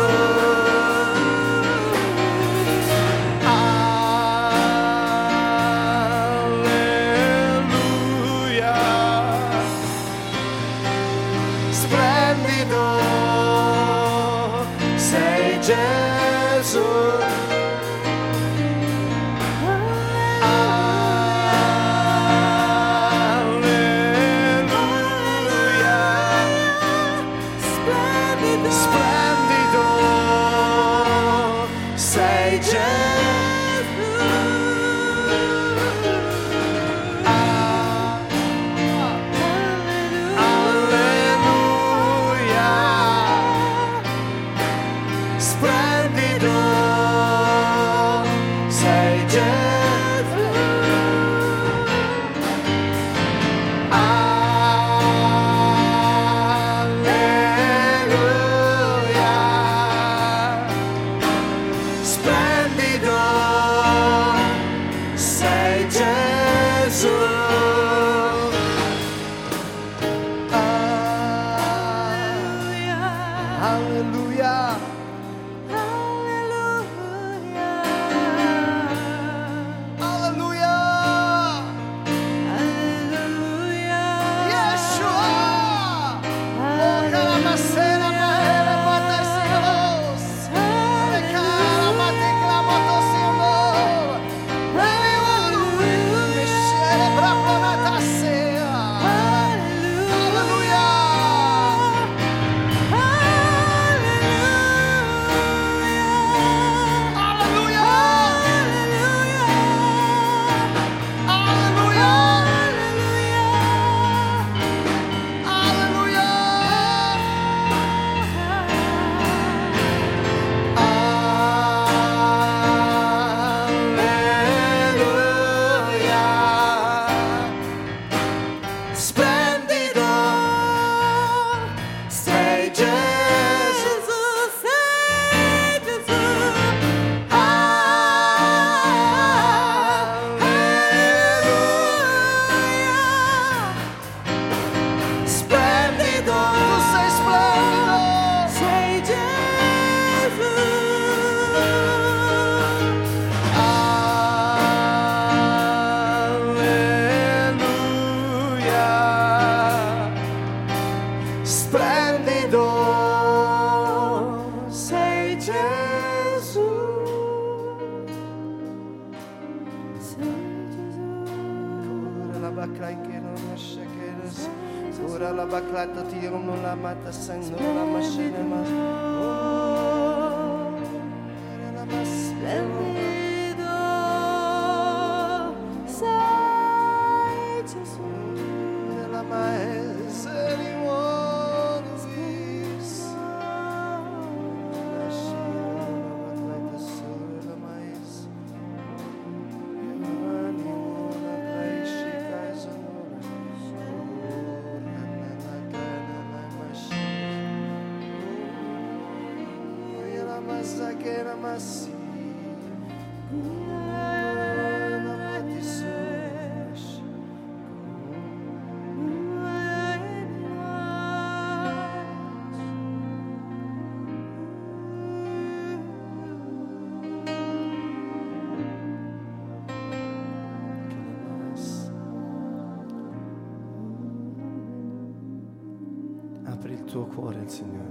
Apri il tuo cuore al Signore.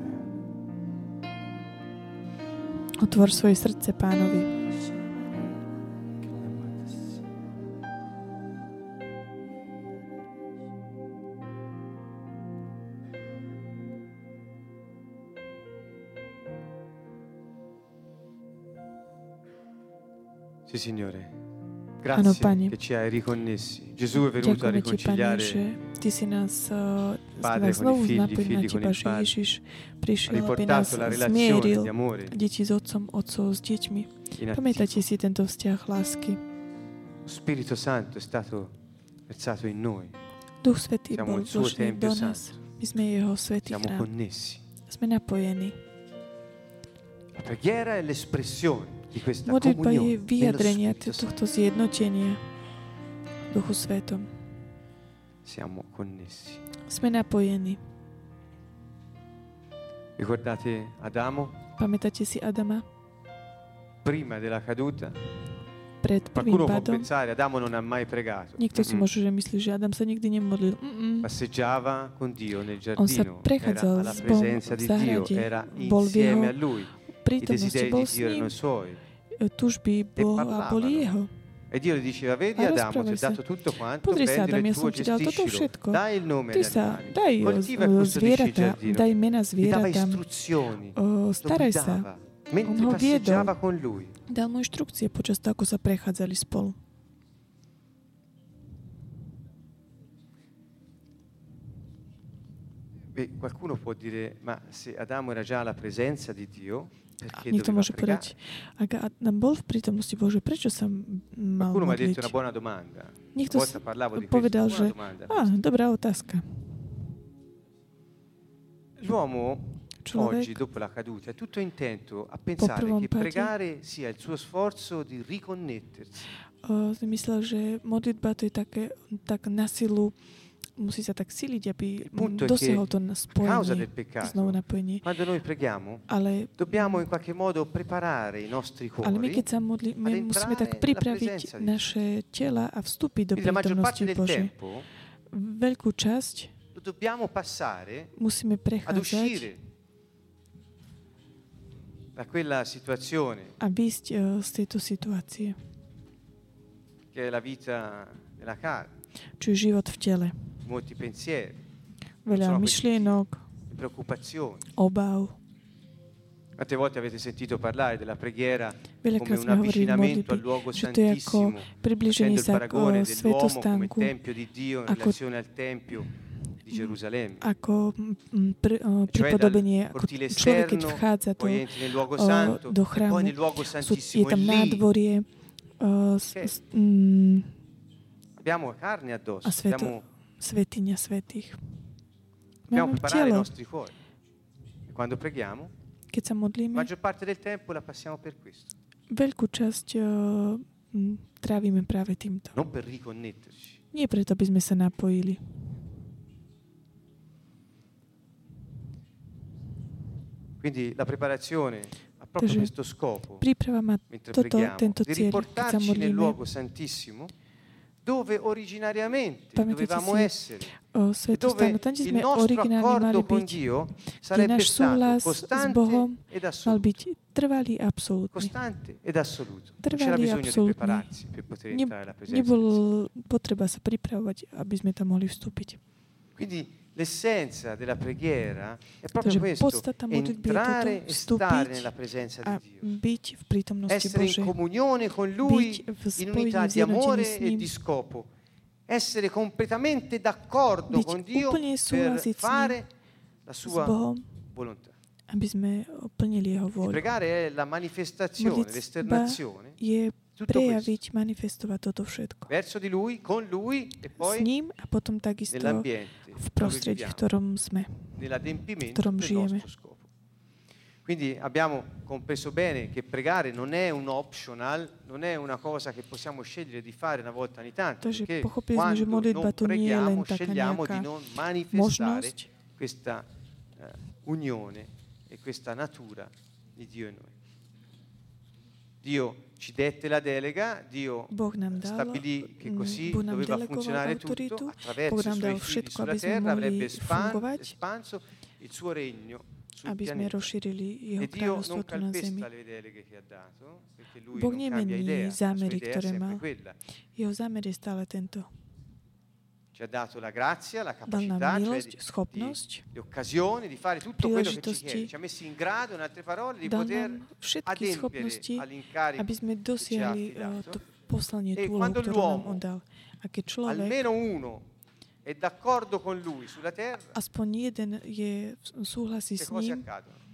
Otvor svoje srdce Pánovi. Sì, Signore. Grazie che ci hai riconnessi. Gesù è venuto a riconciliare Padre con i figli con il Padre. Ha riportato la relazione di amore. Deti s otcom, otcov s deťmi. Pamätajte si tento vzťah lásky. Spirito Santo è stato versato in noi. Duch Svätý bol vložený do nás. My sme jeho svätý chrám. Siamo connessi. Sme napojení. La preghiera è l'espressione di questa modlitba je comunione. vyjadrenie tohto zjednotenia Duchu Svätom. Siamo connessi. Sme napojení. Ricordate Adamo? Pamätáte si Adama? Prima della caduta. Pred prvým pádom. Adamo non ha mai pregato. Niekto si môže že myslí, že Adam sa nikdy nemodlil. Passeggiava con Dio nel giardino. On sa prechádzal s Bohom v záhrade. Bol v jeho prítomnosti, bol s ním. Tužby Boha boli jeho. E Dio gli diceva, vedi Adamo, ti ho dato tutto quanto, prendilo il tuo, gestiscilo, dai il nome agli animali, coltiva e custodisci il giardino. Gli dava istruzioni, staraj sa. mentre passeggiava con lui. Dal mu inštrukcie počas toho, ako sa prechádzali spolu. Qualcuno può dire, ma se Adamo era già alla presenza di Dio, perché niekto doveva môže pregare? povedať, ak Adam bol v prítomnosti Bože, prečo sa mal Qualcuno mi ha detto modliť? una buona domanda. Niekto Una volta parlavo di povedal, questo, že buona domanda. dobrá otázka. L'uomo oggi, Človek dopo la caduta, è tutto intento a pensare prvom che páde pregare sia il suo sforzo di riconnettersi. myslel, že modlitba to je tak na silu, musí sa tak siliť, aby dosiahol to spojenie, znovu napojenie. Quando noi preghiamo, Ale dobbiamo in qualche modo preparare i nostri my cuori. keď sa modlíme, musíme tak pripraviť naše tela a vstúpiť do Quindi la maggior prítomnosti parte del Božej. tempo Veľkú časť lo dobbiamo passare musíme ad prechádzať uscire da quella situazione a výjsť z tejto situácie, che è la vita nella carne, čo je život v tele. molti pensieri, Veľa sono myšlienok, preoccupazioni. obav. Quante volte avete sentito parlare della preghiera come Veľakrát un sme hovorili v avvicinamento al modlitbe, luogo že to je ako santissimo, približenie facendo il sa k paragone dell'uomo come svetostánku, tempio di Dio in ako relazione al tempio di Gerusalemme. ako pripodobenie, ako cortile človek, keď esterno, vchádza poi entri nel luogo santo, do e chrámu, poi nel luogo je santissimo. tam E lì nádvorie abbiamo carne addosso, a abbiamo svetiňa svätých. dobbiamo Máme preparare i telo. nostri cuori. E quando preghiamo, Keď sa la modlíme, maggior parte del tempo la passiamo per questo, veľkú časť trávime práve týmto. non per riconnetterci. Nie preto, aby sme sa napojili. Quindi la preparazione ha proprio Takže questo scopo, príprava má mentre tento preghiamo, di cieľ, keď sa riportarci nel modlíme. luogo santissimo dove originariamente Pamätáte dovevamo si essere o e svetostánu, dove tam, kde il sme nostro originálne mali accordo con byť, Dio kde sarebbe náš stato súhlas s costante Bohom ed mal assoluto. byť trvalý a absolútny. Costante ed assoluto. Non c'era Trvalý a bisogno di absolútny. prepararsi per poter entrare nella presenza Nebol del Signore. potreba sa pripravovať, aby sme tam mohli vstúpiť. Quindi l'essenza della preghiera è Takže proprio questo, podstata modlitby je entrare toto, e stare vstúpiť nella presenza a di Dio. byť v prítomnosti Essere in Božej. comunione con Lui Byť v in unità spojení, di amore zjednotení s e ním. di scopo. Essere completamente d'accordo Byť con Dio úplne per súhlasiť s ním, fare la s sua Bohom, volontà. aby sme plnili jeho E vôľu. pregare è la manifestazione, Modlitba l'esternazione je tutto prejaviť, manifestovať toto všetko. verso di Lui, con Lui e S poi ním a potom takisto nell'ambiente v dove prostredí, v viviamo, ktorom sme. nell'adempimento ktorom del žijeme. nostro scopo. Quindi abbiamo compreso bene che pregare non è un optional, non è una cosa che possiamo scegliere di fare una volta ogni tanto, Takže perché pochopili sme, že quando modlitba non to nie je len preghiamo taká scegliamo nejaká di non manifestare možnosť, questa unione e questa natura di Dio e noi. Dio ci dette la delega, Dio Boh nám dal, stabilì che così Boh nám doveva delegoval funzionare autoritu, tutto attraverso Boh i nám dal suoi figli všetko, sulla aby sme terra, mohli avrebbe fungovať, espanso il suo regno sul aby sme pianeta. rozšírili jeho E Dio kráľovstvo non tu na zemi. calpesta le deleghe che ha dato, perché lui Boh non cambia nemení idea, la sua zámery, idea è ktoré sempre mal. quella. Jeho zámer je stále tento. Ci ha dato la grazia, la Dal nám capacità, cioè milosť, schopnosť, le occasioni di fare tutto quello che ci príležitosti. chiede. Ci ha messi in grado, in altre parole, di Dal poter nám všetky adempiere schopnosti, all'incarico aby sme che ci ha dosiahli affidato. to poslanie, E tú úlohu, quando ktorú nám l'uomo, on dal. A keď človek, almeno uno, è d'accordo con lui sulla terra, aspoň jeden súhlasí che s cose ním, accadono?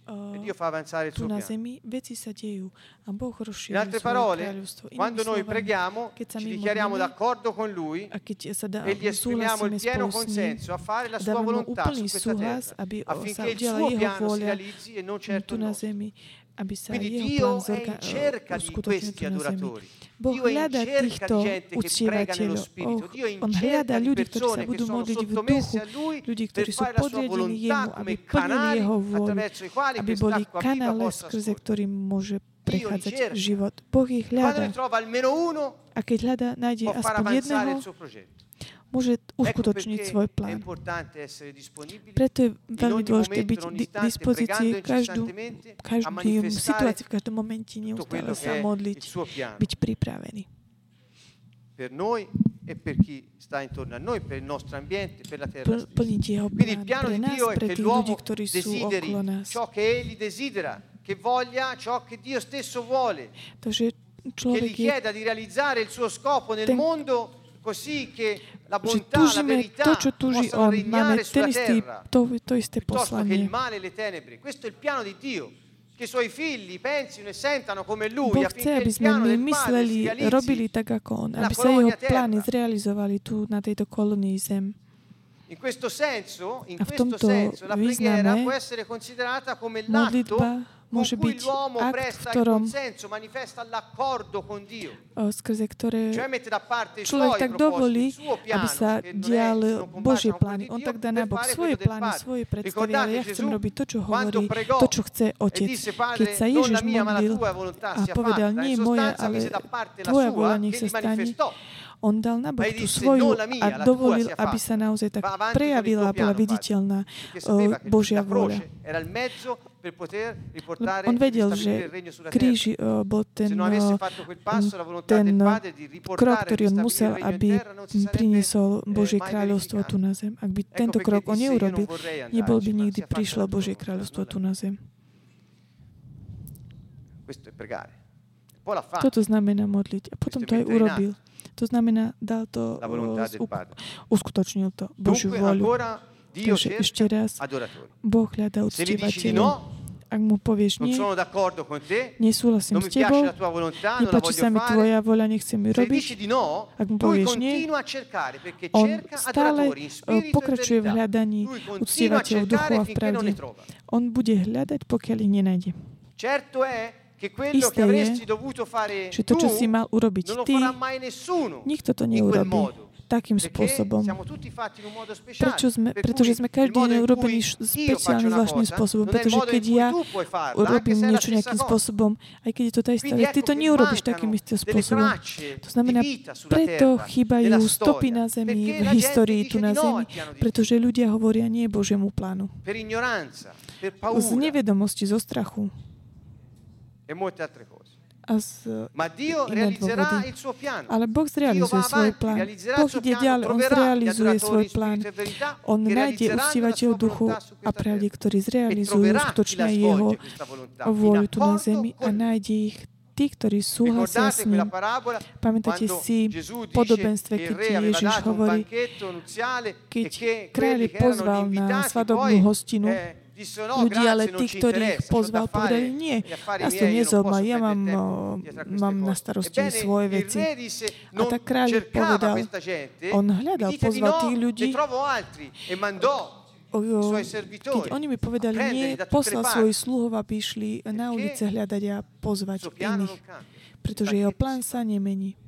tu na zemi, veci sa dejú a Boh rozšíril In altre svoje parole, kráľovstvo. quando noi preghiamo, ci dichiariamo d'accordo con Lui e gli esprimiamo il pieno consenso a fare la sua volontà su questa terra, affinché il suo piano si realizzi e non certo il nostro. Quindi Dio è in cerca di questi adoratori. Dio è in cerca di gente che prega nello Spirito. Dio è in cerca di persone che sono sottomesse a Lui per fare la sua volontà come canali attraverso i quali quest'acqua viva possa scorrere. prechádzať život. Boh ich hľadá. A keď hľadá, nájde aspoň jedného, môže uskutočniť svoj plán. Preto je veľmi dôležité byť v dispozícii každú situáciu, v každom momente neustále sa modliť, byť pripravený. Per noi e per chi sta intorno a noi, per il nostro ambiente, per la terra stessa. Quindi il piano di Dio è che l'uomo desideri ciò che egli desidera, che voglia ciò che Dio stesso vuole, che gli chieda di realizzare il suo scopo nel mondo così che la bontà, la verità possano regnare sulla terra, piuttosto che il male e le tenebre. Questo è il piano di Dio. Che i suoi figli pensino e sentano come lui, affinché il piano del Padre si realizzi aby sa jeho plány zrealizovali tu na tejto kolónii zem. In questo senso, la preghiera può essere considerata come l'atto con cui l'uomo presta il consenso, manifesta l'accordo con Dio. Skrze ktoré cioè mette da parte i človek suoi tak dovolí, propositi, il suo piano, aby sa diali Božie plány. On tak dá nabok svoje plány, svoje predstavy, ale ja chcem robiť to, čo hovorí, to, čo chce Otec. Keď sa Ježiš modlil a povedal, nie moja, ale tvoja vôľa nech sa stane, on dal nabok tú svoju a dovolil, aby sa naozaj tak prejavila a bola viditeľná Božia vôľa. On vedel, že kríž bol ten krok, ktorý on musel, aby priniesol Božie kráľovstvo tu na zem. Ak by tento krok on neurobil, nebol by nikdy prišlo Božie kráľovstvo tu na zem. Toto znamená modliť. A potom to aj urobil. To znamená, dal to, uskutočnil to Božiu voľu. Takže ešte raz, Boh hľadá uctievateľov. Ak mu povieš nie, nesúhlasím s tebou, nepáči sa mi tvoja voľa, nechcem ju robiť. Ak mu povieš nie, on stále pokračuje v hľadaní uctievateľov duchu a v pravde. On bude hľadať, pokiaľ ich nenájde. Isté je, že to, čo si mal urobiť ty, nikto to neurobí takým spôsobom. Pretože sme každý deň urobení špeciálnym zvláštnym spôsobom. Pretože keď ja urobím niečo nejakým spôsobom, aj keď je to tá istá vec, ty to neurobíš takým istým spôsobom. To znamená, preto chýbajú stopy na zemi, v histórii tu na zemi, pretože ľudia hovoria nie Božiemu plánu. Z nevedomosti, zo strachu. A z iné dôvody. Ale Boh zrealizuje svoj plán. Boh ide ďalej, on zrealizuje svoj plán. On nájde uctievateľov duchu a pravde, ktorí zrealizujú skutočne jeho vôľu tu na zemi a nájde ich tí, ktorí súhlasia s ním. Pamätáte si podobenstve, keď Ježiš hovorí, keď kráľ pozval na svadobnú hostinu ľudí, ale tí, ktorých pozval, povedali, nie, nás to nezaujíma, ja mám na starosti svoje veci. A tak kráľ povedal, on hľadal, pozval tých ľudí, keď oni mi povedali, nie, poslal svojich sluhov, aby išli na ulice hľadať a pozvať iných, pretože jeho plán sa nemení.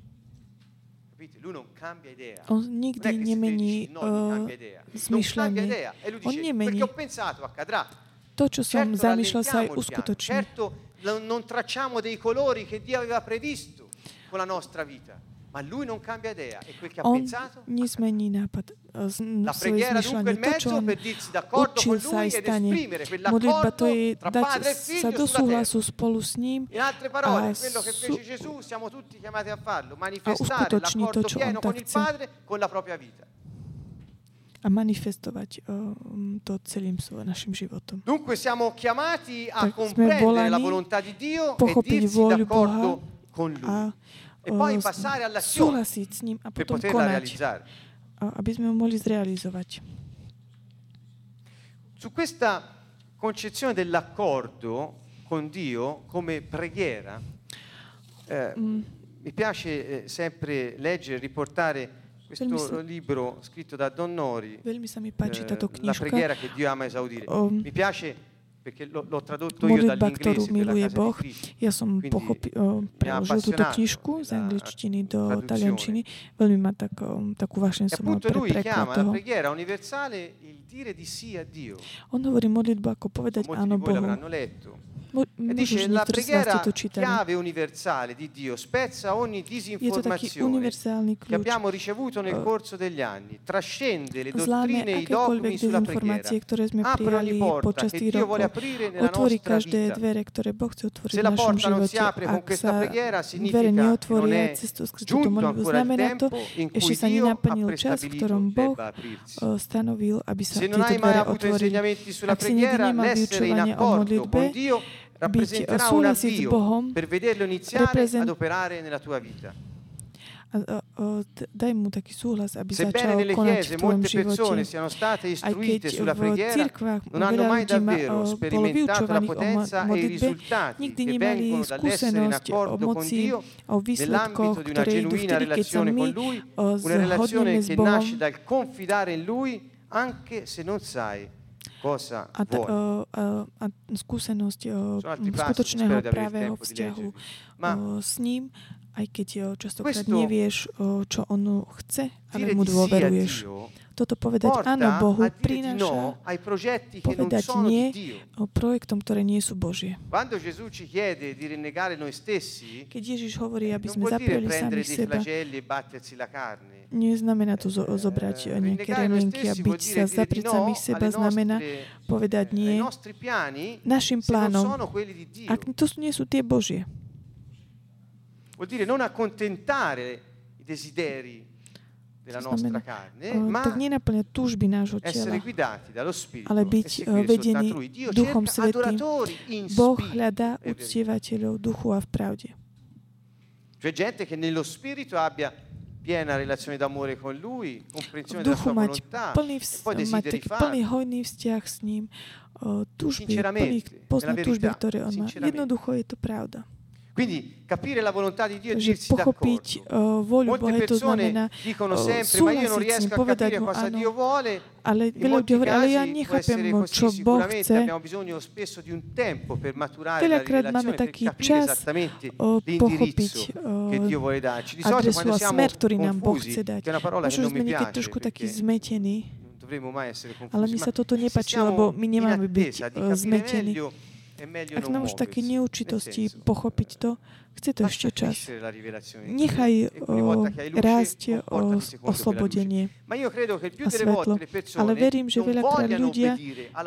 On nikdy nemení zmyšľanie. On nemení. To, čo som zamýšľal, sa aj uskutoční. Non tracciamo dei colori che Dio aveva previsto con la nostra vita. Ma lui non cambia idea e quel che ha pensato nezmení nápad, svoje zmyšľanie. To, čo on učil sa aj stane. Modlitba to je dať sa do súhlasu spolu s ním a uskutoční to, čo on tak chce. A manifestovať to celým našim životom. Dunque siamo chiamati a comprendere la volontà di Dio e dirsi d'accordo con lui. E poi passare all'azione s ním a potom konať, aby sme ho mohli zrealizovať. Su questa concezione dell'accordo con Dio come preghiera, mi piace sempre leggere, riportare questo libro scritto da Don Nori, La preghiera che Dio ama esaudire. Mi piace perché l'ho tradotto io dall'inglese per la Casa di Cristo. Ja som preložil túto knižku z angličtiny do taliančiny. Veľmi ma takú vášeň som mal pre preklad toho. On hovorí modlitbu ako povedať áno Bohu. E dice la preghiera chiave universale di Dio spezza ogni disinformazione che abbiamo ricevuto nel corso degli anni, trascende le dottrine e i dogmi sulla preghiera, apre ogni porta che Dio vuole aprire nella nostra vita. Se la porta non si apre con questa preghiera significa che non è giunto ancora il tempo in cui Dio ha prestabilito debba aprirsi. Se non hai mai avuto insegnamenti sulla preghiera, l'essere in accordo con Dio rappresenterà un avvio per vederlo iniziare ad operare nella tua vita. Daj mu taký súhlas, aby začal konať v tvojom živote. Aj keď v cirkvách veľa ľudí bolo vyučovaných o modlitbe, nikdy nemali skúsenosť o moci, o výsledkoch, ktoré idú vtedy, keď sa my zhodneme s Bohom. A skúsenosť skutočného pravého vzťahu s ním, aj keď častokrát nevieš, čo on chce, ale mu dôveruješ. Toto povedať áno Bohu prináša povedať nie projektom, ktoré nie sú Božie. Keď Ježiš hovorí, aby sme zapreli sami seba, neznamená to zobrať nejaké remienky a byť sa, zaprieť samých seba, znamená povedať nie našim plánom, ak to nie sú tie Božie. Vuol dire non accontentare i desideri della nostra carne, ma essere guidati dallo Spirito ale byť vedený Duchom Svätým. Boh hľadá uctievateľov duchu a v pravde. Cioè gente che nello Spirito abbia piena relazione d'amore con Lui, comprensione della sua volontà, e poi desideri plný hojný vzťah s ním, túžby, poznať túžby, ktoré on má. Jednoducho je to pravda. Quindi capire la volontà di Dio e dirsi d'accordo. Molte persone dicono sempre ma io non riesco a capire cosa Dio vuole. Ale veľa ľudí hovorí, ale ja nechápem, čo Boh chce. Abbiamo bisogno spesso di un tempo per maturare la Veľakrát máme taký čas pochopiť adresu a smer, ktorý nám Boh chce dať. Možno sme niekedy trošku takí zmetení, ale mi sa toto nepáči, lebo my nemáme byť zmetení. Ak nám už také neurčitosti pochopiť to, chce to ešte čas. Nechaj rásť oslobodenie a svetlo. Ale verím, že veľakrát ľudia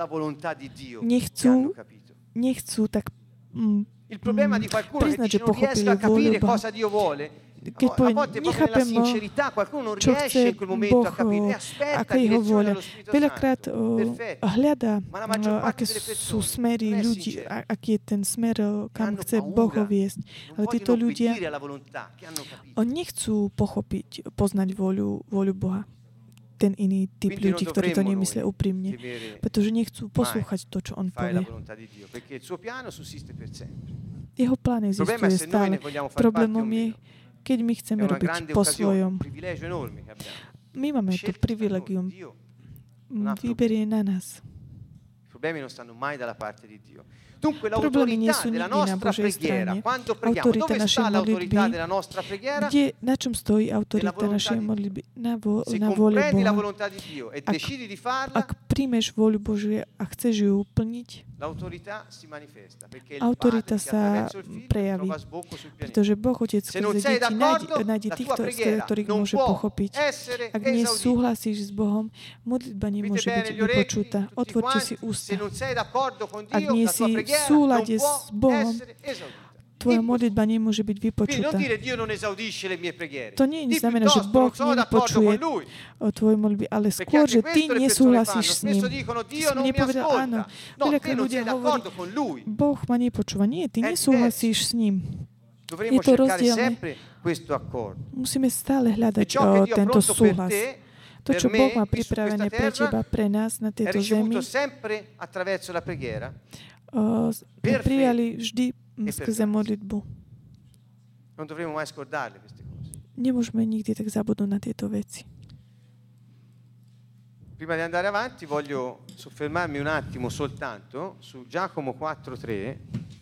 nechcú tak priznať, že pochopili vôľu Boha. Keď poviem, nechápem, čo chce Boh, aká je jeho vôľa. Veľakrát hľadá, aké sú smery ľudí, aký je ten smer, kam chce Boh viesť. Ale títo ľudia, nechcú pochopiť, poznať vôľu Boha. Ten iný typ ľudí, ktorí to nemyslia úprimne. Pretože nechcú poslúchať to, čo on povie. Jeho plán existuje stále. Problémom je, keď my chceme robiť po svojom. My máme to privilegium. Výber je na nás. Problémy nie sú nikdy na Božej strane. Autorita našej modlitby, na čom stojí autorita našej modlitby? Na vôle Boha. Ak príjmeš vôľu Božiu a chceš ju plniť, autorita sa prejaví. Pretože Boh, Otec, skrze deti nájde tých, ktorých môže pochopiť. Ak nesúhlasíš s Bohom, modlitba nemôže byť vypočutá. Otvorte si ústa. Ak nie si v súlade s Bohom, tvoja modlitba nemôže byť vypočutá. To nie znamená, že Boh nevypočuje tvoje modlitby, ale skôr, že ty nesúhlasíš s ním. Ty si mi nepovedal áno. Veľakrát ľudia hovorí, Boh ma nepočúva. Nie, ty nesúhlasíš s ním. Je to rozdielne. Musíme stále hľadať tento súhlas. To, čo Boh má pripravené pre teba, pre nás na tejto zemi, prijali vždy skrze modlitbu. Nemôžeme nikdy tak zabudnúť na tieto veci. Prima di andare avanti voglio soffermarmi un attimo soltanto su Giacomo 4:3.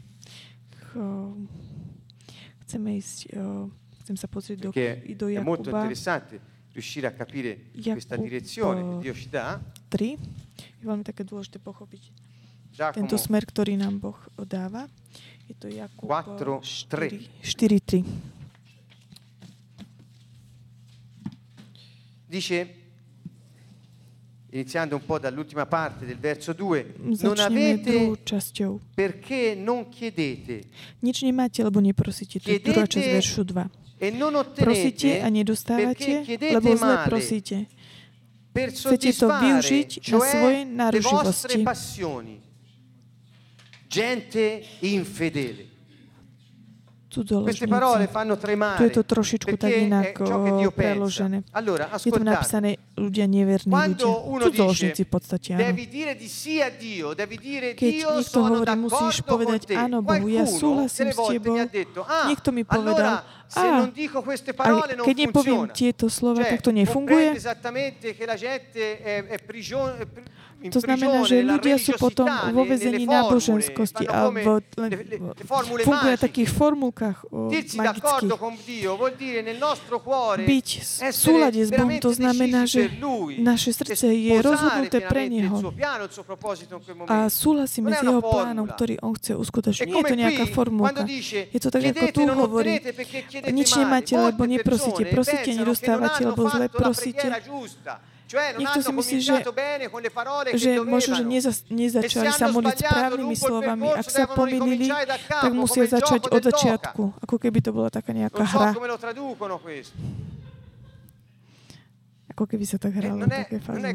Chcem sa pozrieť do Jakuba. È molto Jakuba interessante riuscire a capire questa direzione che Dio ci dà. 3. Je veľmi také dôležité pochopiť tento smer, ktorý nám Boh dáva. Je to Jakub 4:3. Dice, iniziando un po' dall'ultima parte del verso 2, non avete perché non chiedete. Nič nemáte, lebo neprosíte. To je druhá časť veršu 2. Prosíte a nedostávate, lebo zle prosíte. Chcete to využiť na svoje náruživosti. Gente infedele. Queste parole fanno tremare. Tu je to trošičku tak inak preložené. Je tu napísané ľudia neverní ľudia. Cudzoložníci v podstate, áno. Keď niekto hovorí, musíš povedať áno Bohu, ja súhlasím s tebou. Niekto mi povedal, keď nepoviem tieto slova, tak to nefunguje. To znamená, že ľudia sú potom vo väzení náboženskosti a funguje v takých formulkách magických. Byť v súlade s Bohom, to znamená, že naše srdce je rozhodnuté pre Neho a súhlasíme s Jeho plánom, ktorý On chce uskutočniť. Nie je to nejaká formulka. Je to tak, ako tu hovorí. Nič nemáte, lebo neprosíte. Prosíte, nedostávate, lebo zle prosíte. Niekto si myslí, že možno, že nezačali sa modliť správnymi slovami. Ak sa pomýlili, tak musia začať od začiatku. Ako keby to bola taká nejaká hra. Ako keby sa tak hralo. Také fazulky.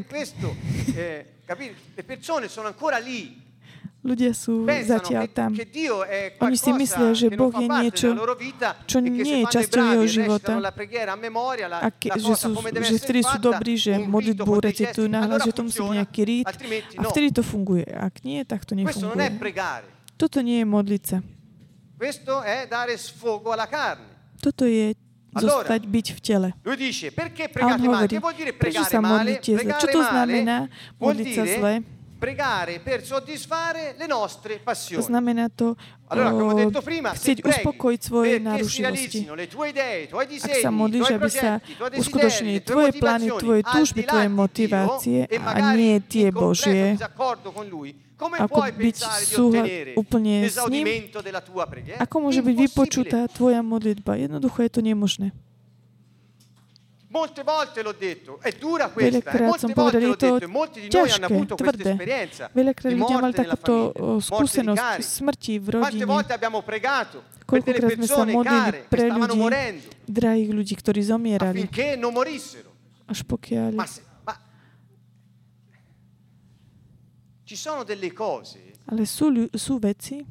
Ľudia sú zatiaľ tam. Oni si myslia, že Boh je niečo, čo nie je časťou jeho života. A že vtedy sú dobrí, že modlitbu recitujú nahlas, že to musí byť nejaký rít. A vtedy to funguje. Ak nie, tak to nefunguje. Toto nie je modliť sa. Toto je zostať byť v tele. A on hovorí, prečo sa modlíte zle? Čo to znamená modliť sa zle? Pregare per soddisfare le nostre passioni. Znamená to chcieť uspokojiť svoje náruživosti. Ak sa modlíš, aby sa uskutočnili tvoje plány, tvoje túžby, tvoje motivácie a nie tie Božie, ako byť úplne s ním, ako môže byť vypočutá tvoja modlitba? Jednoducho je to nemožné. Veľakrát som povedal, je to ťažké, tvrdé. Veľakrát ľudia mali takúto skúsenosť smrti v rodine. Koľkokrát sme sa modlili pre ľudí, drahých ľudí, ktorí zomierali. Až pokiaľ... Ale sú veci,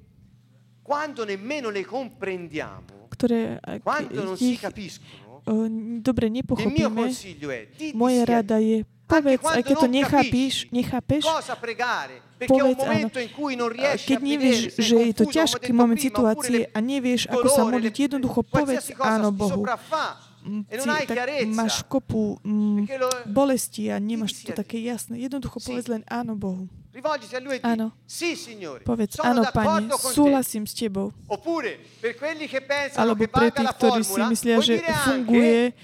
ktoré ich dobre nepochopíme. Moja rada je, povedz, aj keď to nechápeš, povedz áno. Keď nevieš, že je to ťažký moment situácie a nevieš, ako sa modliť, jednoducho povedz áno Bohu. Tak máš kopu bolesti a nemáš to také jasné. Jednoducho povedz len áno Bohu. Áno. Povedz, áno, Pane, súhlasím s Tebou. Alebo pre tých, ktorí si myslia, že funguje,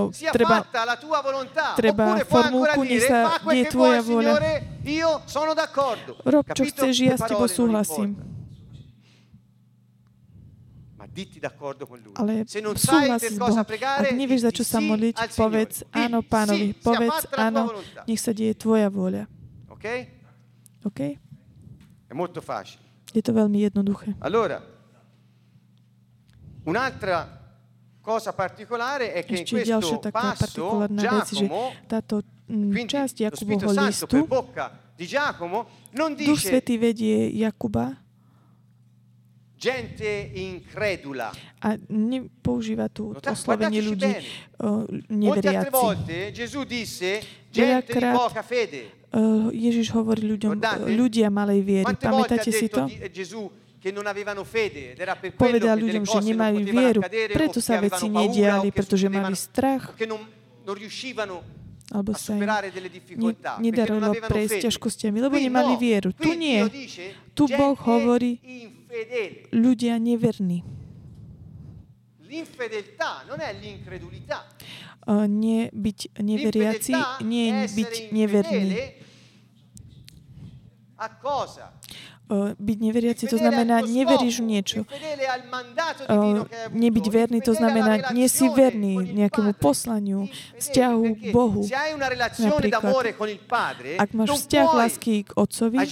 treba formulku, nech sa nie je Tvoja vôľa. Rob, čo chceš, ja s Tebou súhlasím. Ale súhlas s Bohom. Ak nevieš, za čo sa modliť, povedz áno Pánovi. Povedz áno, nech sa deje Tvoja vôľa. OK? Je to veľmi jednoduché. Allora, un'altra cosa particolare è che in questo passo Giacomo, časť Jakubovho listu, Duch Svätý vedie Jakuba gente incredula. A nepoužíva tu oslovenie ľudí neveriaci. Molte volte Gesù disse gente di poca fede. Ježiš hovorí ľuďom, ľudia malej viery. Pamätáte si to? Povedal ľuďom, že nemajú vieru, preto sa veci nediali, pretože mali strach, alebo sa im nedarilo prejsť ťažkostiami, lebo nemali vieru. Tu nie. Tu Boh hovorí ľudia neverní. Byť neveriaci nie je byť neverný. Byť neveriaci, to znamená, neveríš v niečo. Nebyť verný, to znamená, nie si verný nejakému poslaniu, vzťahu k Bohu. Napríklad, ak máš vzťah lásky k Otcovi,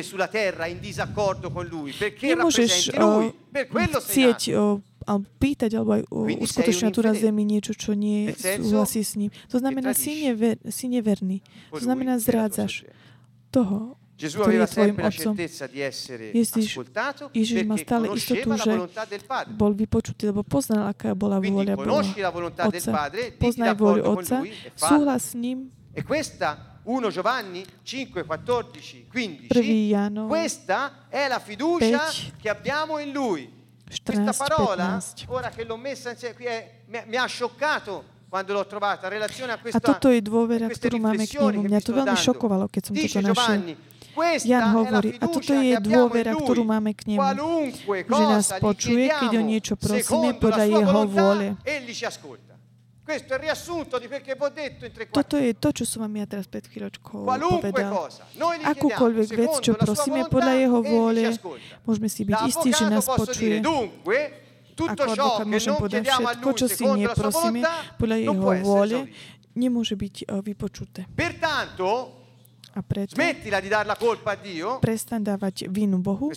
nemôžeš chcieť alebo pýtať, alebo aj uskutočňovať tu na zemi niečo, čo nie súhlasí s ním. To znamená, si neverný. To znamená, zrádzaš toho, ktorý je tvojim otcom. Ježiš má stále istotu, že bol vypočutý, lebo poznal, aká bola vôľa Otca. Poznaj vôľu Otca, súhlas s ním. 1 Giovanni 5, 14, 15. 1 Jánov 5, questa è la fiducia che abbiamo in Lui. Questa parola, ora che l'ho messa insieme qui, mi ha scioccato quando l'ho trovata, in relazione a questa, a toto je dôvera, ktorú máme k nemu. Mňa to veľmi šokovalo, keď som toto našiel. Jan hovorí, a toto je dôvera, ktorú máme k nemu, že nás počuje, keď o niečo prosíme podľa jeho vôle. Toto je to, čo som vám ja teraz pred chvíľočkou povedal. Akúkoľvek vec, čo prosíme podľa jeho vôle, môžeme si byť istí, že nás počuje. Ako advokát môžem povedať, všetko, čo si neprosíme podľa jeho vôle, nemôže byť vypočuté. A preto prestaň dávať vinu Bohu.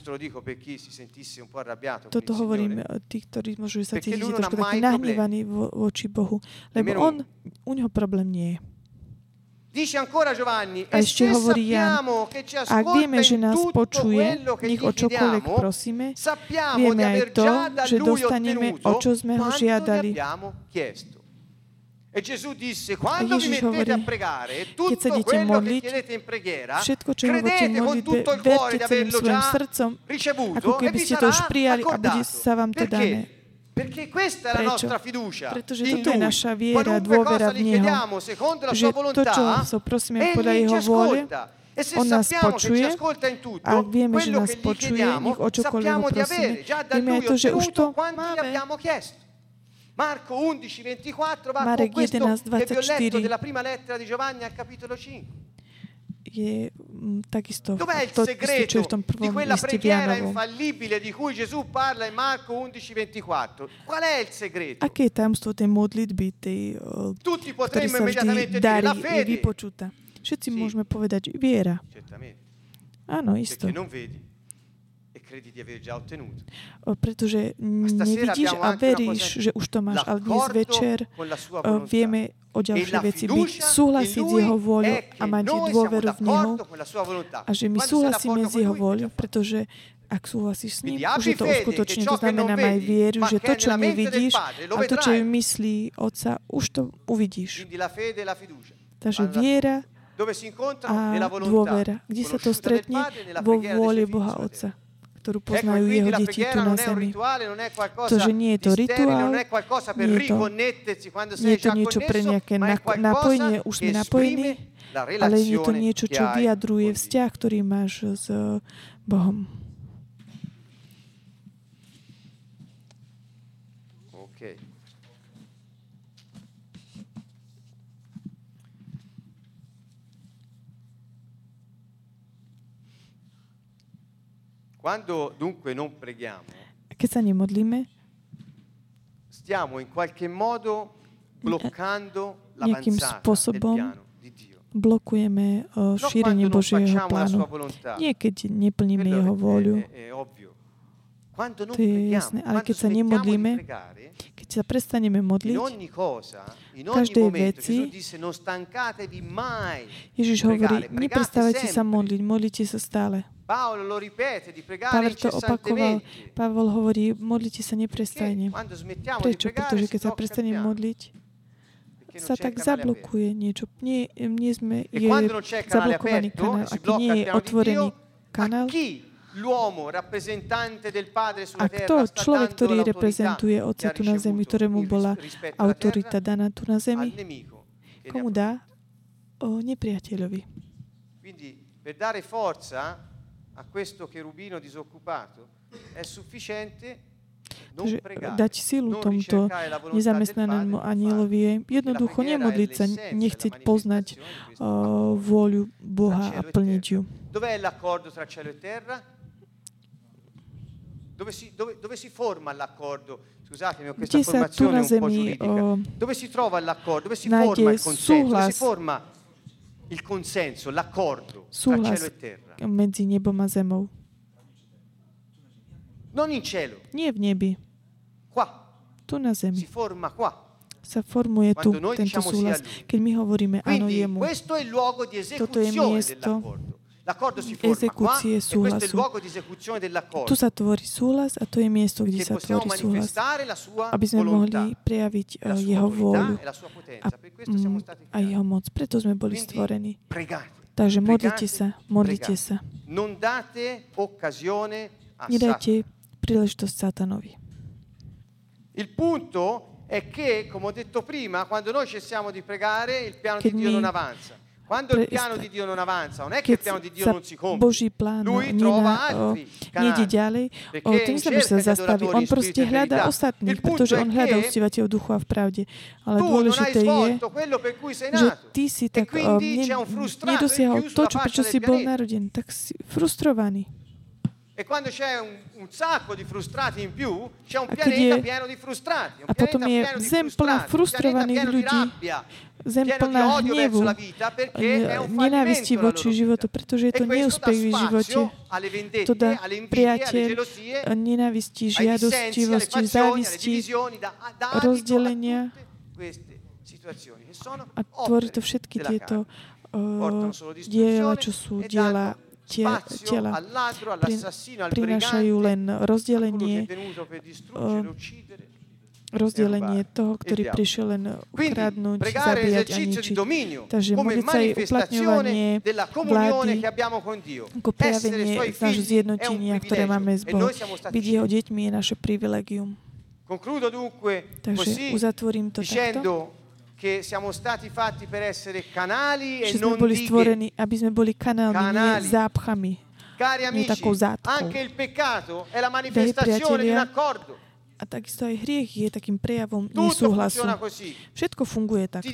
Toto hovorím tí, ktorí môžu sa cítiť trošku taký nahnevaní voči Bohu. Lebo u neho problém nie je. A ešte hovorí Jan, ak vieme, že nás počuje, nech o čokoľvek prosíme, vieme aj to, že dostaneme, o čo sme ho žiadali. E Gesù disse, quando vi mettete a pregare, tutto quello che chiedete in preghiera, credete con tutto il cuore di averlo già ricevuto e vi sarà accordato. Perché questa è la nostra fiducia in Lui. Qualunque cosa gli chiediamo secondo la sua volontà, Egli ci ascolta. E se sappiamo che ci ascolta in tutto, quello che gli chiediamo, sappiamo di avere già da Lui ottenuto quanto gli abbiamo chiesto. Marco 11:24 va con questo che vi ho letto della prima lettera di Giovanni al capitolo 5. Je takisto dov'è il segreto di quella preghiera infallibile di cui Gesù parla in Marco 11:24? Qual è il segreto? Aké je tajomstvo tej modlitby, tutti potremmo immediatamente dire la fede. Vypočutá. Všetci môžeme povedať viera. Áno, isto. Perché non vedi. Credi di aver già ottenuto. Pretože nevidíš a veríš, že už to máš. Ale dnes večer vieme o ďalšie veci byť, súhlasiť s jeho vôľou a mať dôveru v neho a že my súhlasíme s jeho vôľou, pretože ak súhlasíš s ním, už je to uskutočne. To znamená, maj vieru, že to, čo nevidíš a to, čo je myslí Otca, už to uvidíš. Takže viera a dôvera. Kde sa to stretne? Vo vôli Boha Otca, ktorú poznajú jeho deti tu na zemi. To, že nie je to rituál, nie je to niečo pre nejaké napojenie, už sme napojení, ale je to niečo, čo vyjadruje vzťah, ktorý máš s Bohom. Quando dunque non preghiamo, keď sa nemodlíme, stiamo in qualche modo bloccando l'avanzata del piano di Dio. Blokujeme šírenie Božieho plánu. Nie keď neplníme jeho vôľu. To je jasné, ale keď sa nemodlíme, keď sa prestaneme modliť, v každej veci, Ježiš hovorí, neprestávajte sa modliť, modlite sa stále. Pavel to opakoval. Pavel hovorí, modlite sa neprestajne. Prečo? Pretože keď sa prestaneme modliť, sa tak zablokuje niečo. Nie je zablokovaný kanál. Ak nie je otvorený kanál, a kto človek, ktorý reprezentuje Otca tu na zemi, ktorému bola autorita daná tu na zemi, komu dá? Nepriateľovi. Per dare forza a questo cherubino disoccupato è sufficiente non pregare, dať silu tomuto nezamestnanému anielovi je jednoducho nemodliť sa, nechceť poznať vôľu Boha a plniť ju. Dov'è l'accordo tra cielo e terra? Dove si forma l'accordo? Scusatemi, ho questa formazione un po' giuridica. Dove si trova l'accordo? Dove si forma il consenso? Dove si forma il consenso, l'accordo tra cielo e terra? Medzi nebom a zemou. Non in cielo. Nie v nebi. Qua. Tu na zemi. Si forma qua. Sa formuje tu tento súhlas. Keď my hovoríme áno jemu, toto je miesto exekúcie súhlasu. Tu sa tvorí súhlas a to je miesto, kde sa tvorí súhlas, aby sme mohli prejaviť jeho vôľu a jeho moc. Preto sme boli stvorení. Takže modlite sa, modlite sa. Nedajte príležitosť Satanovi. Il punto è che, come ho detto prima, quando noi cessiamo di pregare, il piano di Dio non avanza. Quando il piano di Dio non avanza, non è che il piano di Dio non si compie. Boží plán nejde ďalej, to neznamená, že sa zastaví. On proste hľadá ostatných, pretože on hľadá uctievateľov duchu a v pravde. Ale dôležité je, že ty si tak nedosiahol to, prečo si bol narodený. Tak si frustrovaný. E quando c'è un sacco di frustrati in più, c'è un pianeta pieno di frustrati. A potom je zem plná frustrovaných ľudí, zem plná hnevu, nenávisti voči životu, pretože je to neúspech v živote. To dá priateľ, nenávisti, žiadostivosti, závisti, rozdelenia a tvorí to všetky tieto diela, čo sú diela tela, prinášajú len rozdelenie toho, ktorý prišiel len ukradnúť, zabíjať a ničiť. Takže modliť sa je uplatňovanie vlády ako prejavenie nášho zjednotenia, ktoré máme s Bohom. Byť jeho deťmi je naše privilegium. Takže uzatvorím to takto. Che siamo stati fatti per essere canali e že non sme boli dighe. stvorení, aby sme boli kanálmi, nie zápchami, nie takou zátkou. Anche il peccato è la manifestazione di un accordo. A takisto aj hriech je takým prejavom nesúhlasu. Všetko funguje takto.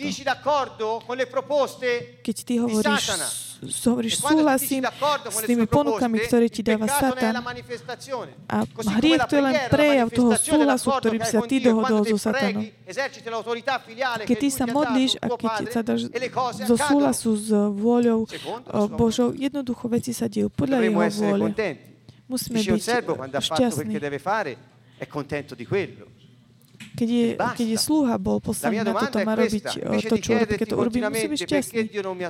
Keď ty hovoríš súhlasím s tými ponukami, ktoré ti dáva Satan, a hriech to je len prejav toho súhlasu, ktorým sa ty dohodol so Satanom. Keď ty sa modlíš a keď sa dáš zo súhlasu s vôľou Božou, jednoducho veci sa dejú podľa jeho vôle. Musíme byť šťastní. È contento di quello. Keď je sluha bol poslaný na toto, má robiť to, čo robí. Keď to urobí, musí byť šťastný.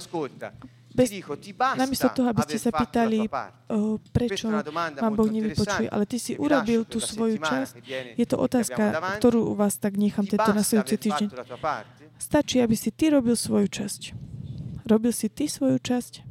Namiesto toho, aby ste sa pýtali, prečo ma Boh nevypočuje, ale ty si urobil tú svoju časť. Je to otázka, ktorú u vás tak nechám tento nasledujúci týždeň. Stačí, aby si ty robil svoju časť. Robil si ty svoju časť.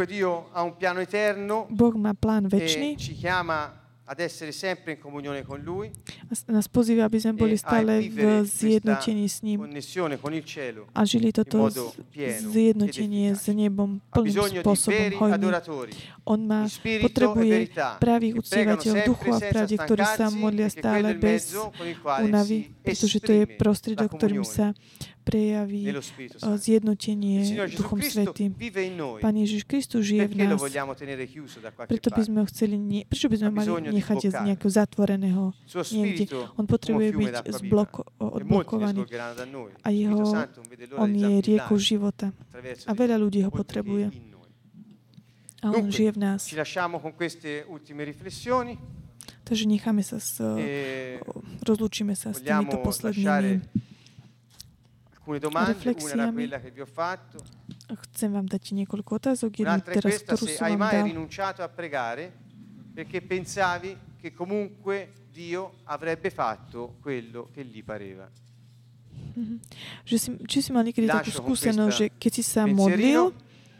Boh má plán večný. Ad essere sempre in comunione con lui. Nás pozýva, aby sme boli stále v zjednotení s ním a žili toto zjednotenie s nebom plným spôsobom hojný. On potrebuje pravých uctievateľov duchu a v pravde, ktorí sa modlia stále bez únavy, pretože to je prostriedok, ktorým sa prejaví zjednotenie Duchom Svätým. Pán Ježiš Kristus žije v nás. Preto by sme ho chceli, prečo by sme mali nechať z nejakého zatvoreného niekde? On potrebuje byť odblokovaný a on je riekou života. A veľa ľudí ho potrebuje. A on žije v nás. Takže necháme sa rozlúčime sa s týmito poslednými reflexiami. Chcem vám dať niekoľko otázok. Jednu teraz, ktorú som vám dal. Perché pensavi che comunque Dio avrebbe fatto quello che gli pareva. Či si mal niekedy takú skúsenosť, že keď si sa modlil,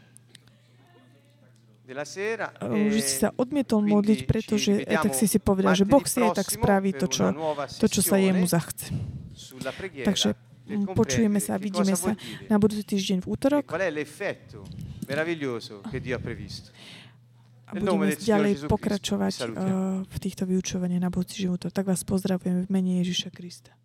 že si sa odmietol modliť, pretože tak si povedal, že Boh si aj tak spraví to, čo sa jemu zachce. Takže počujeme sa a vidíme sa na budúci týždeň v útorok. A budeme ďalej pokračovať v týchto vyučovaniach na budúci útorok. Tak vás pozdravujem v mene Ježiša Krista.